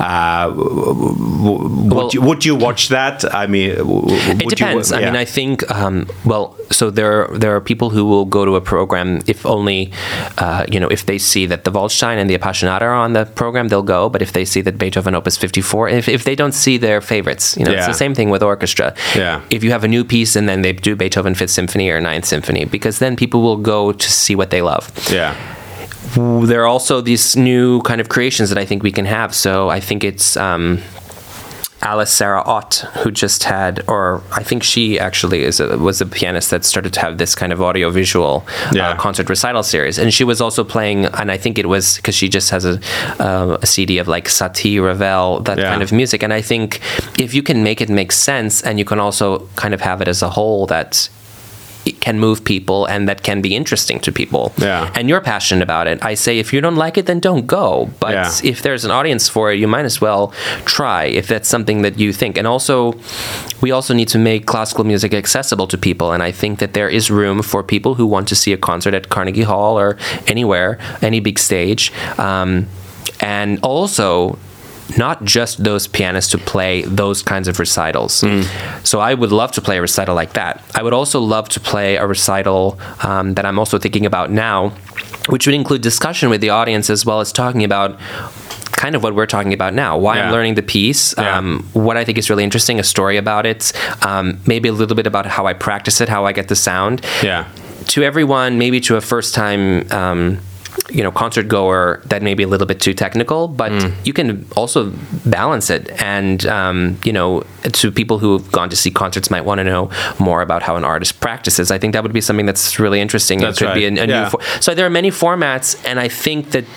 Would you watch that? It depends. I think, so there are people who will go to a program if only, if they see that the Waldstein and the Appassionata are on the program, they'll go. But if they see that Beethoven Opus 54, if they don't see their favorites, it's the same thing with orchestra. Yeah. If you have a new piece and then they do Beethoven 5th Symphony or 9th Symphony, because then people will go to see what they love. Yeah. There are also these new kind of creations that I think we can have. So I think it's Alice Sarah Ott, who just had, or I think she actually was a pianist that started to have this kind of audio-visual concert recital series. And she was also playing, and I think it was because she just has a CD of like Satie, Ravel, that kind of music. And I think if you can make it make sense, and you can also kind of have it as a whole that it can move people and that can be interesting to people, and you're passionate about it, I say if you don't like it, then don't go. But if there's an audience for it, you might as well try, if that's something that you think. And also, we also need to make classical music accessible to people, and I think that there is room for people who want to see a concert at Carnegie Hall or anywhere, any big stage, and also not just those pianists to play those kinds of recitals. So I would love to play a recital like that. I would also love to play a recital that I'm also thinking about now, which would include discussion with the audience, as well as talking about kind of what we're talking about now, why I'm learning the piece, what I think is really interesting, a story about it, maybe a little bit about how I practice it, how I get the sound. To everyone, maybe to a first-time concert goer, that may be a little bit too technical, but you can also balance it. And, to people who have gone to see concerts might want to know more about how an artist practices. I think that would be something that's really interesting. It could be a new so there are many formats, and I think that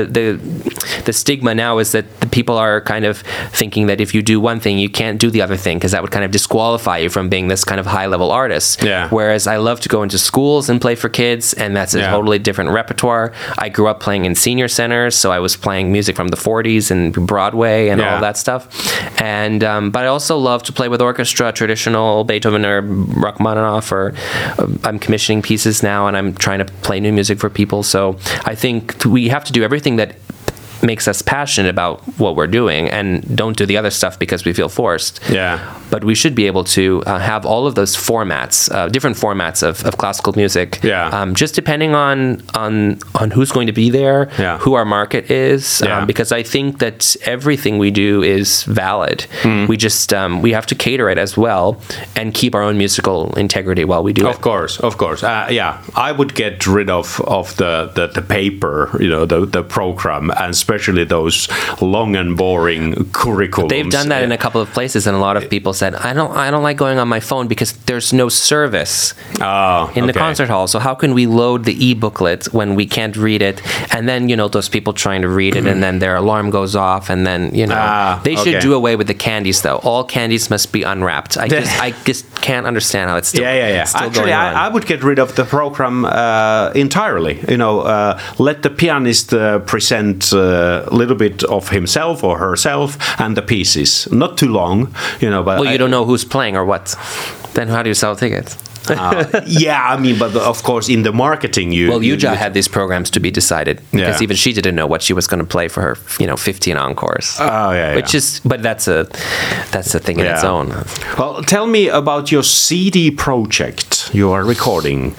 the stigma now is that the people are kind of thinking that if you do one thing, you can't do the other thing, because that would kind of disqualify you from being this kind of high-level artist. Whereas I love to go into schools and play for kids, and that's a totally different repertoire. I grew up playing in senior centers, so I was playing music from the 40s and Broadway and all that stuff. And but I also love to play with orchestra, traditional Beethoven or Rachmaninoff, or I'm commissioning pieces now, and I'm trying to play new music for people. So I think we have to do everything that makes us passionate about what we're doing, and don't do the other stuff because we feel forced. But we should be able to have all of those formats, different formats of classical music, just depending on who's going to be there, who our market is, because I think that everything we do is valid. We just we have to cater it as well and keep our own musical integrity while we do it. Of course. I would get rid of the paper, the program, and especially those long and boring curriculums. They've done that in a couple of places, and a lot of people said, I don't like going on my phone because there's no service in the concert hall. So how can we load the e-booklet when we can't read it? And then, those people trying to read it, and then their alarm goes off, and then, they should do away with the candies, though. All candies must be unwrapped. I just can't understand how it's still, still Actually, going on. I would get rid of the program entirely. Let the pianist present a little bit of himself or herself and the pieces. Not too long, but you don't know who's playing or what. Then how do you sell tickets? But of course, in the marketing, Yuja had these programs to be decided because even she didn't know what she was going to play for her, 15 encores. But that's a thing in its own. Well, tell me about your CD project you are recording.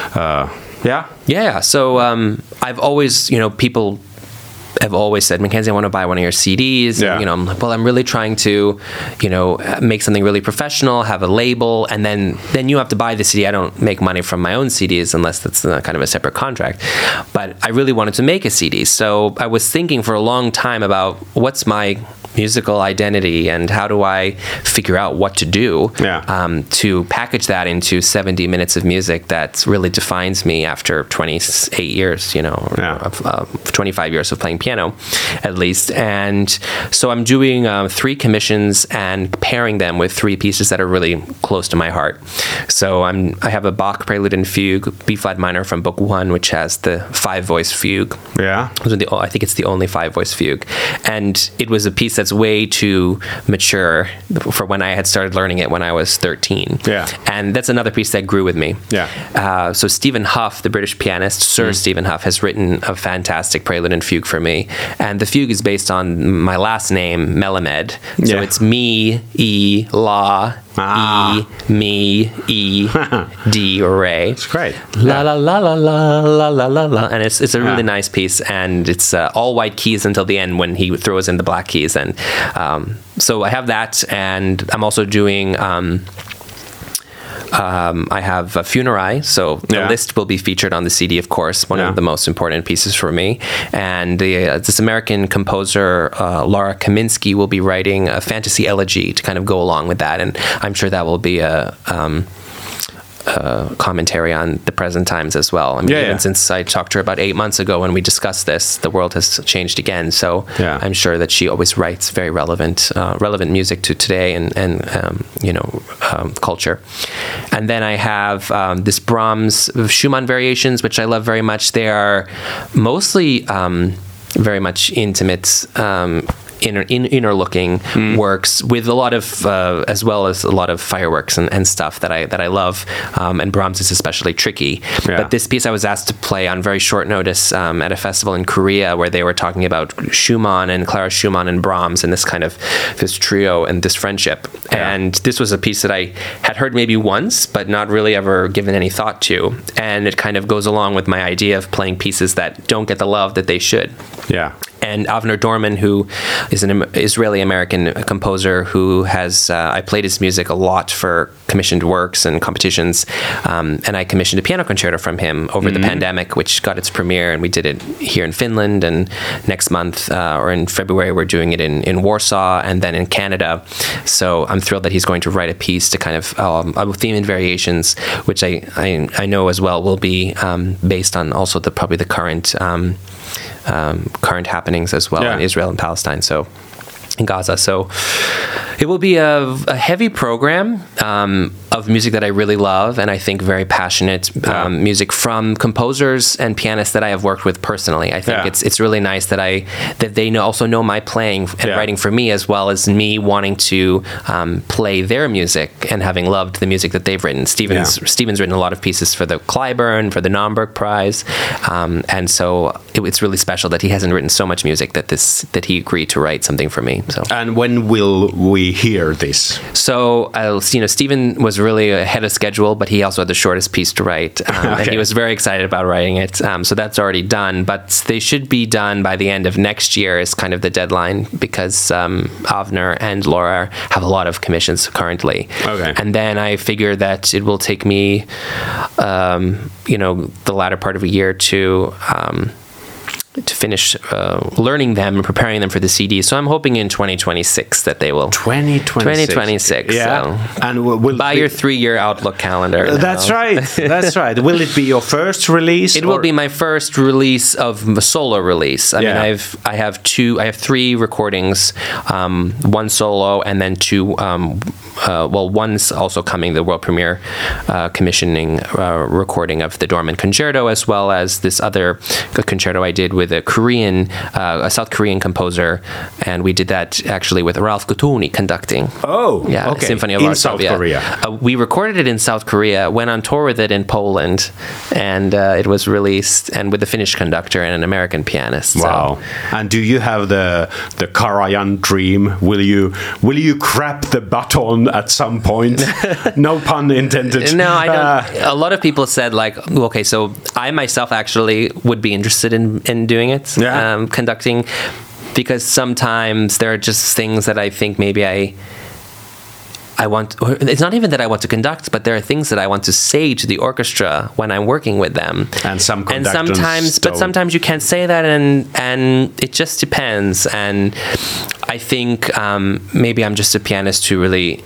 So I've always, people have always said, Mackenzie, I want to buy one of your CDs. Yeah. And, I'm like, well, I'm really trying to, make something really professional, have a label, and then you have to buy the CD. I don't make money from my own CDs unless that's kind of a separate contract. But I really wanted to make a CD. So I was thinking for a long time about what's my musical identity and how do I figure out what to do to package that into 70 minutes of music that really defines me after 28 years, 25 years of playing piano at least. And so I'm doing 3 commissions and pairing them with 3 pieces that are really close to my heart. So I have a Bach Prelude and Fugue, B-flat minor from Book 1, which has the 5-voice fugue. Yeah. I think it's the only 5-voice fugue. And it was a piece that's way too mature for when I had started learning it when I was 13. Yeah. And that's another piece that grew with me. Yeah. So Stephen Hough, the British pianist, Sir Stephen Hough, has written a fantastic prelude and fugue for me. And the fugue is based on my last name, Melamed. So it's me, E, La, E, me, E, D, Re. It's great. La la la la la la la la la. And it's a really nice piece, and it's all white keys until the end when he throws in the black keys. And so I have that, and I'm also doing I have a Funerai, so the list will be featured on the CD, of course, one of the most important pieces for me. And this American composer, Laura Kaminsky, will be writing a fantasy elegy to kind of go along with that. And I'm sure that will be a commentary on the present times as well. I mean, even since I talked to her about 8 months ago when we discussed this, the world has changed again. So I'm sure that she always writes very relevant music to today and culture. And then I have this Brahms Schumann variations, which I love very much. They are mostly very much intimate, inner looking works with a lot of as well as a lot of fireworks and stuff that I love, and Brahms is especially tricky. But this piece I was asked to play on very short notice at a festival in Korea where they were talking about Schumann and Clara Schumann and Brahms and this trio and this friendship. And this was a piece that I had heard maybe once but not really ever given any thought to, and it kind of goes along with my idea of playing pieces that don't get the love that they should. And Avner Dorman, who is an Israeli-American composer who has, I played his music a lot for commissioned works and competitions, and I commissioned a piano concerto from him over the pandemic, which got its premiere, and we did it here in Finland, and next month, or in February, we're doing it in Warsaw, and then in Canada. So I'm thrilled that he's going to write a piece to kind of, theme and variations, which I know as well will be based on also probably the current happenings as well in Israel and Palestine, so in Gaza. So it will be a heavy program of music that I really love, and I think very passionate music from composers and pianists that I have worked with personally. I think it's really nice that they also know my playing and writing for me, as well as me wanting to play their music and having loved the music that they've written. Stephen's written a lot of pieces for the Clyburn, for the Naumburg Prize, and so it's really special that he hasn't written so much music that he agreed to write something for me. So. And when will we hear this? So, Stephen was really ahead of schedule, but he also had the shortest piece to write, and he was very excited about writing it. So that's already done, but they should be done by the end of next year is kind of the deadline, because Avner and Laura have a lot of commissions currently. And then I figure that it will take me, the latter part of a year to to finish learning them and preparing them for the CD. So I'm hoping in 2026 that they will. 2026. Yeah. So And will buy your 3-year Outlook calendar. That's right. That's right. Will it be your first release? It will be my first release of a solo release. I mean, I have 3 recordings, 1 solo, and then 2. One's also coming, the world premiere commissioning recording of the Dorman Concerto, as well as this other concerto I did with a South Korean composer, and we did that actually with Ralph Gutuni conducting. Oh, yeah, okay. Symphony of In South Korea. We recorded it in South Korea, went on tour with it in Poland, and it was released, and with a Finnish conductor and an American pianist. Wow! So. And do you have the Karajan dream? Will you grab the baton at some point? No pun intended. No, I don't. A lot of people said, like, okay, so I myself actually would be interested in doing it, conducting, because sometimes there are just things that I think maybe I want. It's not even that I want to conduct, but there are things that I want to say to the orchestra when I'm working with them. And sometimes you can't say that, and it just depends. And I think maybe I'm just a pianist who really,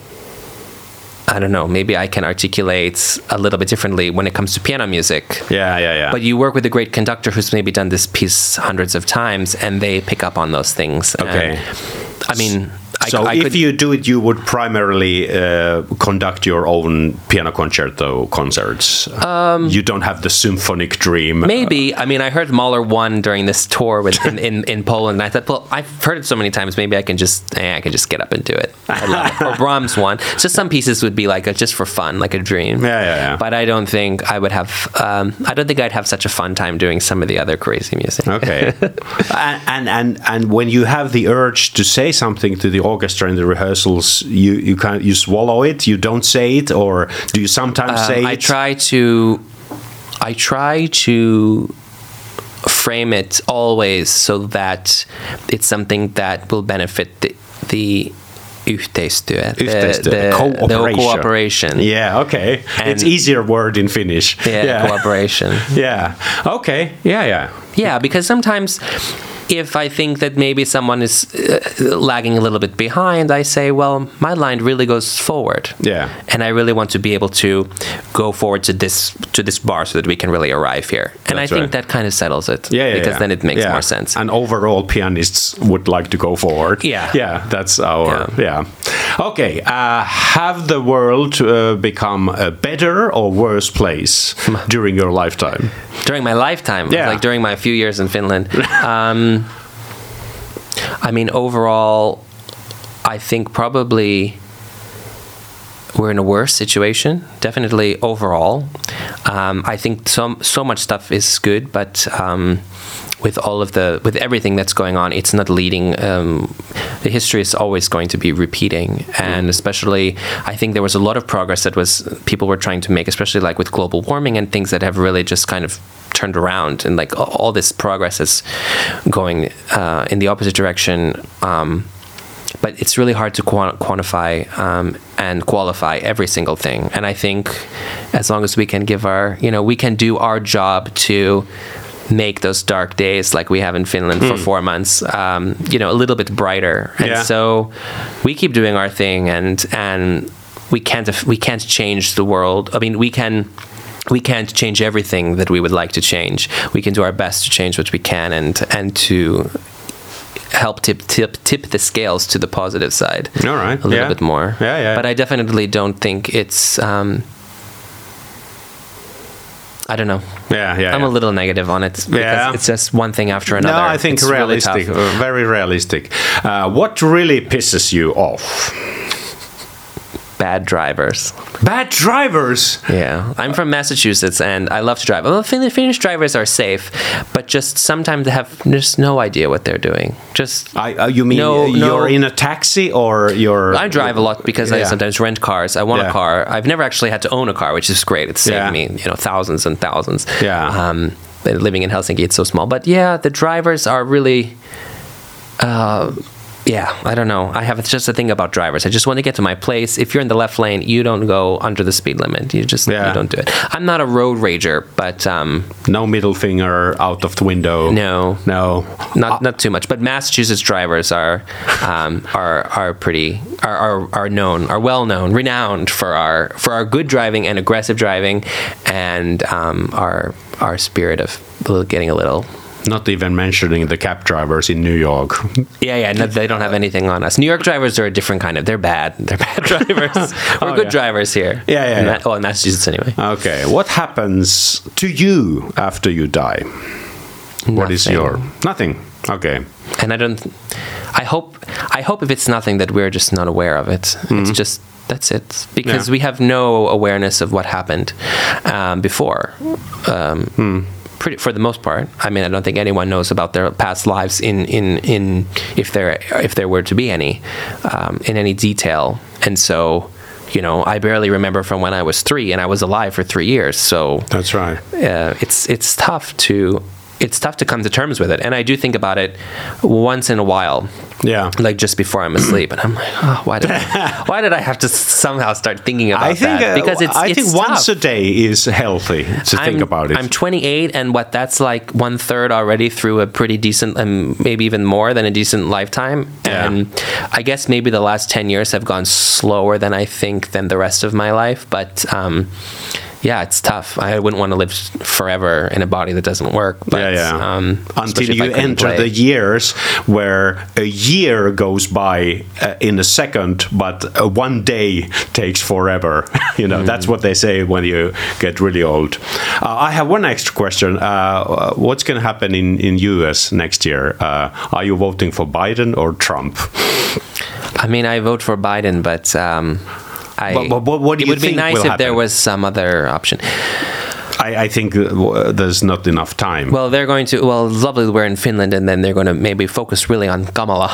I don't know, maybe I can articulate a little bit differently when it comes to piano music. Yeah. But you work with a great conductor who's maybe done this piece hundreds of times, and they pick up on those things. Okay. And, I mean, if you do it, you would primarily conduct your own piano concerto concerts. You don't have the symphonic dream. Maybe. I mean, I heard Mahler 1 during this tour in Poland, and I thought, well, I've heard it so many times, maybe I can just get up and do it. I love it. Or Brahms 1. So some pieces would be like just for fun, like a dream. Yeah. But I don't think I would have. I don't think I'd have such a fun time doing some of the other crazy music. Okay. and when you have the urge to say something to the orchestra in the rehearsals, you swallow it, you don't say it, or do you sometimes say it? I try to frame it always so that it's something that will benefit the yhteistyö, the cooperation. Yeah, okay. And it's easier word in Finnish. Yeah, cooperation. Yeah. Okay. Yeah. Yeah, because sometimes if I think that maybe someone is lagging a little bit behind, I say, well, my line really goes forward. Yeah. And I really want to be able to go forward to this bar so that we can really arrive here. And I think that kind of settles it. Because then it makes more sense. And overall, pianists would like to go forward. Yeah. Yeah, that's our... Yeah. Okay. Have the world become a better or worse place during your lifetime? During my lifetime? Yeah. Like during my few years in Finland? I mean, overall, I think probably we're in a worse situation. Definitely overall. I think so much stuff is good, but with everything that's going on, it's not leading. The history is always going to be repeating, and especially I think there was a lot of progress that people were trying to make, especially like with global warming and things that have really just kind of turned around, and like all this progress is going in the opposite direction. But it's really hard to quantify and qualify every single thing. And I think as long as we can we can do our job to make those dark days like we have in Finland for 4 months, a little bit brighter. And so we keep doing our thing, and we can't change the world. I mean, we can't change everything that we would like to change. We can do our best to change what we can and to help tip the scales to the positive side. All right. A little bit more. Yeah. But I definitely don't think it's I don't know. Yeah. I'm a little negative on it because it's just one thing after another. No, I think it's realistic, really very realistic. What really pisses you off? Bad drivers. Bad drivers? Yeah. I'm from Massachusetts and I love to drive. Well, Finnish drivers are safe, but just sometimes they have just no idea what they're doing. Just you mean you're in a taxi or you're... I drive a lot because I sometimes rent cars. I want a car. I've never actually had to own a car, which is great. It's saved me, thousands and thousands. Yeah. Living in Helsinki, it's so small. But yeah, the drivers are really... Yeah, I don't know. I have just a thing about drivers. I just want to get to my place. If you're in the left lane, you don't go under the speed limit. You don't do it. I'm not a road rager, but no middle finger out of the window. No, not too much. But Massachusetts drivers are well known, renowned for our good driving and aggressive driving, and our spirit of getting a little. Not even mentioning the cab drivers in New York. Yeah, no, they don't have anything on us. New York drivers are a different kind of. They're bad. They're bad drivers. We're good drivers here. Yeah. In Massachusetts anyway. Okay, what happens to you after you die? Nothing. What is nothing? Okay. And I hope if it's nothing that we're just not aware of it. It's just. That's it. Because we have no awareness of what happened before. For the most part. I mean, I don't think anyone knows about their past lives in if there were to be any in any detail. And so, I barely remember from when I was 3, and I was alive for 3 years. So that's right. It's tough to come to terms with it. And I do think about it once in a while. Yeah. Like just before I'm asleep. And I'm like, oh, why did I have to somehow start thinking about that? Because I think tough. Once a day is healthy to think about it. I'm 28, and that's like 1/3 already through a pretty decent, and maybe even more than a decent lifetime. Yeah. And I guess maybe the last 10 years have gone slower than I think than the rest of my life. But yeah, it's tough. I wouldn't want to live forever in a body that doesn't work. But, until you enter the years where a year goes by in a second, but 1 day takes forever. That's what they say when you get really old. I have one extra question. What's going to happen in US next year? Are you voting for Biden or Trump? I mean, I vote for Biden, but... what do you think will happen? It would be nice if there was some other option. I think there's not enough time. Well, it's lovely we're in Finland, and then they're going to maybe focus really on Kamala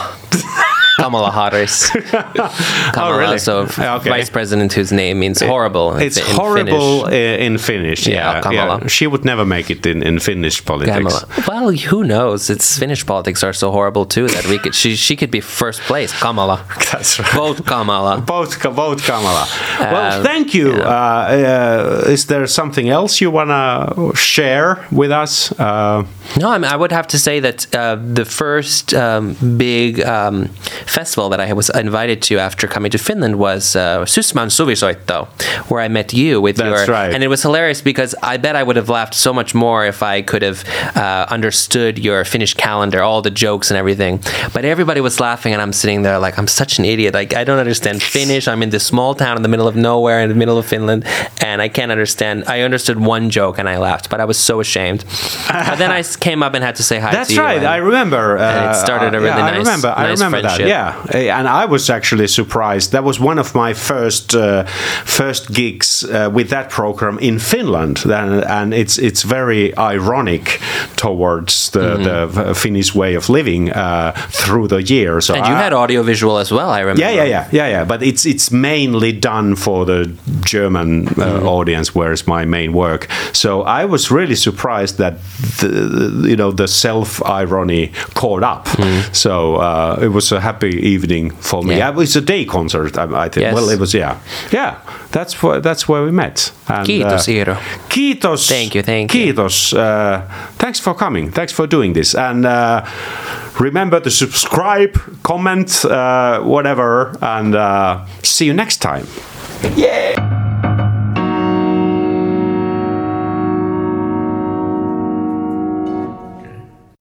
Harris. Kamala, really? So vice president whose name means horrible. It's horrible in Finnish. Yeah, Kamala. Yeah. She would never make it in Finnish politics. Kamala. Well, who knows? Finnish politics are so horrible too that she could be first place. Kamala. That's right. Vote Kamala. Vote Kamala. Well, thank you. Yeah. Is there something else you want to share with us? No, I would have to say that the first big festival that I was invited to after coming to Finland was Sysmän Suvisoitto, where I met you with That's right. And it was hilarious because I bet I would have laughed so much more if I could have understood your Finnish calendar, all the jokes and everything. But everybody was laughing, and I'm sitting there like, I'm such an idiot. Like, I don't understand Finnish. I'm in this small town in the middle of nowhere in the middle of Finland, and I can't understand. I understood one joke and I laughed, but I was so ashamed. But then I came up and had to say hi to you. That's right. I remember. And it started a really nice friendship. I remember that. Yeah, and I was actually surprised. That was one of my first gigs with that program in Finland, and it's very ironic towards the Finnish way of living through the years. So and you had audiovisual as well, I remember. Yeah. But it's mainly done for the German audience, where it's my main work. So I was really surprised that the self-irony caught up. So it was a happy evening for me. Yeah. It was a day concert, I think. Yes. Well, it was, yeah. That's where we met. And, Kiitos, Iiro. Kiitos. Thank you. Kiitos. Thanks for coming. Thanks for doing this. And remember to subscribe, comment, whatever, and see you next time. Yeah.